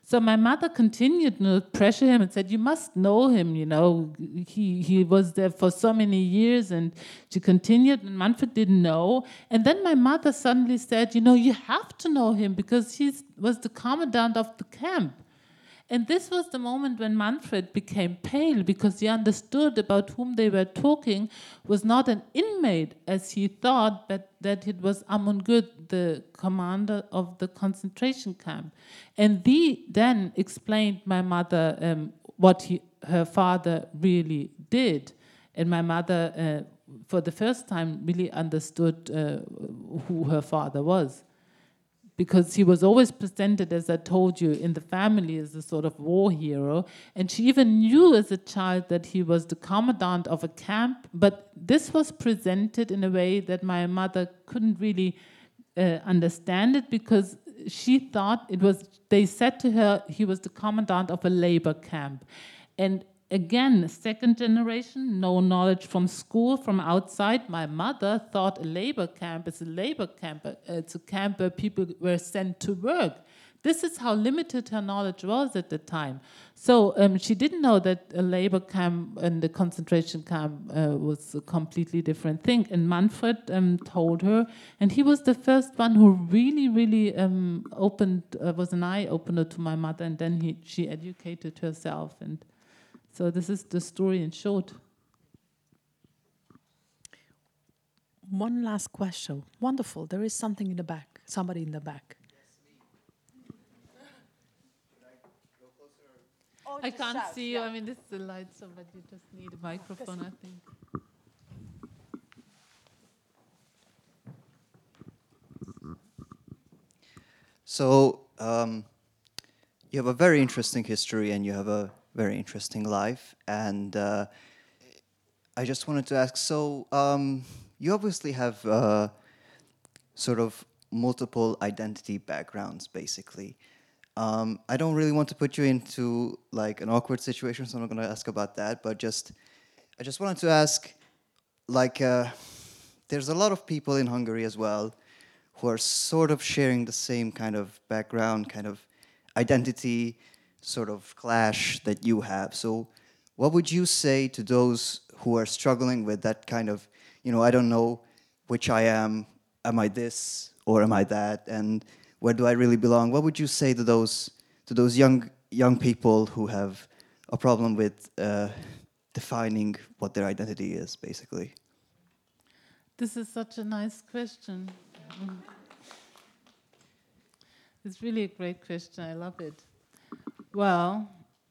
Speaker 3: So my mother continued to pressure him and said, you must know him, you know, he, he was there for so many years, and she continued, and Manfred didn't know. And then my mother suddenly said, you know, you have to know him because he was the commandant of the camp. And this was the moment when Manfred became pale, because he understood about whom they were talking was not an inmate, as he thought, but that it was Amon Good, the commander of the concentration camp. And he then explained my mother um, what he, her father really did. And my mother, uh, for the first time, really understood uh, who her father was. Because he was always presented, as I told you, in the family as a sort of war hero. And she even knew as a child that he was the commandant of a camp, but this was presented in a way that my mother couldn't really uh, understand it, because she thought it was, they said to her, he was the commandant of a labor camp. And again, second generation, no knowledge from school, from outside. My mother thought a labor camp is a labor camp. It's a camp where people were sent to work. This is how limited her knowledge was at the time. So um, she didn't know that a labor camp and the concentration camp uh, was a completely different thing. And Manfred um, told her, and he was the first one who really, really um, opened, uh, was an eye-opener to my mother, and then he, she educated herself. And so this is the story in short.
Speaker 2: One last question. Wonderful. There is something in the back. Somebody in the back.
Speaker 3: Oh, I can't shout, see you. Yeah. I mean, this is the light, so but you just need a microphone, I think.
Speaker 6: So um, you have a very interesting history, and you have a very interesting life. And uh, I just wanted to ask, so um, you obviously have uh, sort of multiple identity backgrounds, basically. Um, I don't really want to put you into like an awkward situation, so I'm not going to ask about that. But just, I just wanted to ask, like, uh, there's a lot of people in Hungary as well who are sort of sharing the same kind of background, kind of identity, sort of clash that you have. So, what would you say to those who are struggling with that kind of, you know, I don't know which I am. Am I this or am I that? And where do I really belong? What would you say to those to those young young people who have a problem with uh, defining what their identity is, basically?
Speaker 3: This is such a nice question. Mm. It's really a great question. I love it. Well,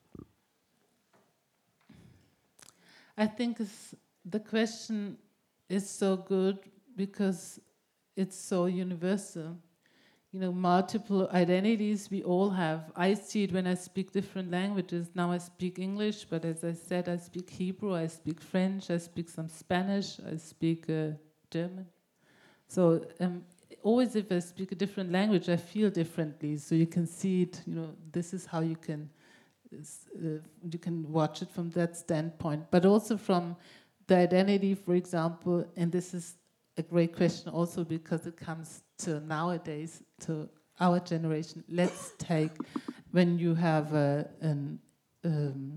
Speaker 3: I think it's, the question is so good because it's so universal. You know, multiple identities we all have. I see it when I speak different languages. Now I speak English, but as I said, I speak Hebrew, I speak French, I speak some Spanish, I speak uh, German. So um, always if I speak a different language, I feel differently. So you can see it, you know, this is how you can, uh, you can watch it from that standpoint. But also from the identity, for example, and this is a great question also because it comes to nowadays, to our generation. Let's take when you have a, an, um,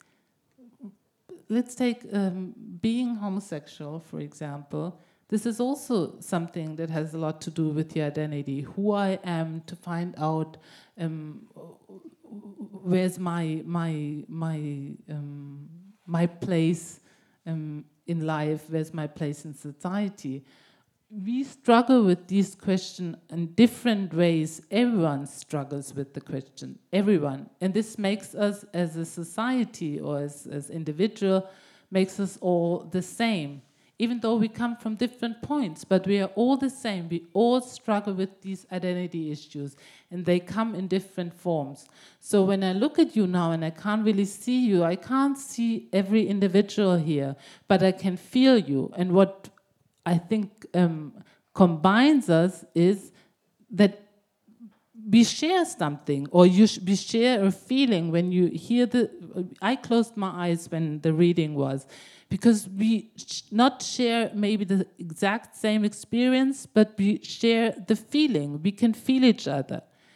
Speaker 3: let's take um, being homosexual, for example. This is also something that has a lot to do with the identity, who I am, to find out um, where's my my my um, my place um, in life, where's my place in society. We struggle with these questions in different ways. Everyone struggles with the question, everyone. And this makes us as a society or as, as individual, makes us all the same. Even though we come from different points, but we are all the same. We all struggle with these identity issues, and they come in different forms. So when I look at you now and I can't really see you, I can't see every individual here, but I can feel you. And what I think um, combines us is that we share something, or you sh we share a feeling when you hear the... I closed my eyes when the reading was, because we sh not share maybe the exact same experience, but we share the feeling. We can feel each other.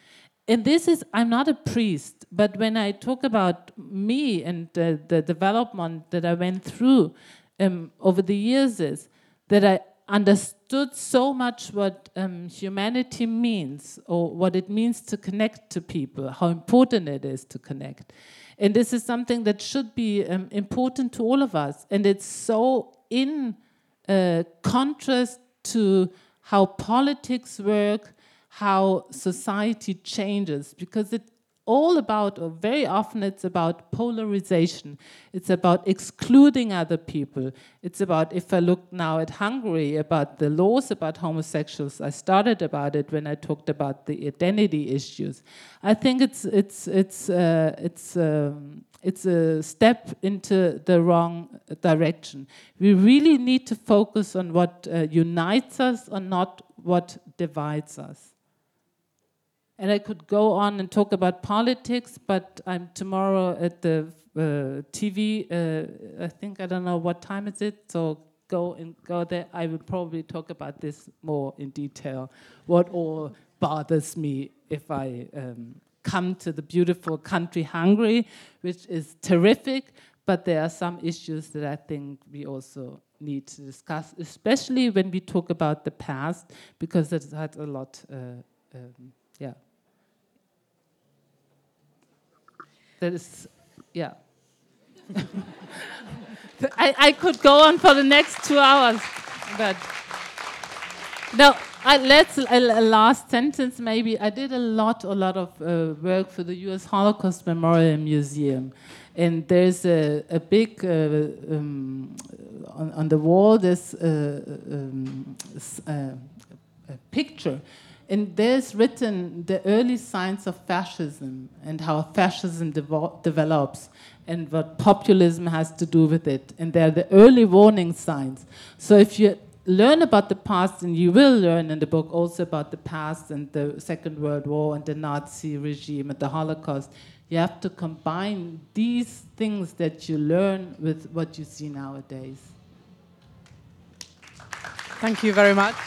Speaker 3: and this is, I'm not a priest, but when I talk about me and the, the development that I went through um, over the years, is that I understood so much what um, humanity means, or what it means to connect to people, how important it is to connect. And this is something that should be um, important to all of us. And it's so in uh, contrast to how politics work, how society changes, because it's all about, or very often it's about polarization. It's about excluding other people. It's about, if I look now at Hungary, about the laws about homosexuals. I started about it when I talked about the identity issues. I think it's it's it's uh, it's um, it's a step into the wrong direction. We really need to focus on what uh, unites us, and not what divides us. And I could go on and talk about politics, but I'm tomorrow at the uh, T V. Uh, I think, I don't know what time is it, so go and go there. I will probably talk about this more in detail, what all bothers me if I um, come to the beautiful country Hungary, which is terrific, but there are some issues that I think we also need to discuss, especially when we talk about the past, because it had a lot, uh, um, yeah. That is, yeah. I, I could go on for the next two hours, but no. I, let's a, a last sentence maybe. I did a lot, a lot of uh, work for the U S Holocaust Memorial Museum, and there's a, a big uh, um, on, on the wall. There's a, um, a, a picture. And there's written the early signs of fascism and how fascism devo- develops and what populism has to do with it. And they're the early warning signs. So if you learn about the past, and you will learn in the book also about the past and the Second World War and the Nazi regime and the Holocaust, you have to combine these things that you learn with what you see nowadays.
Speaker 2: Thank you very much.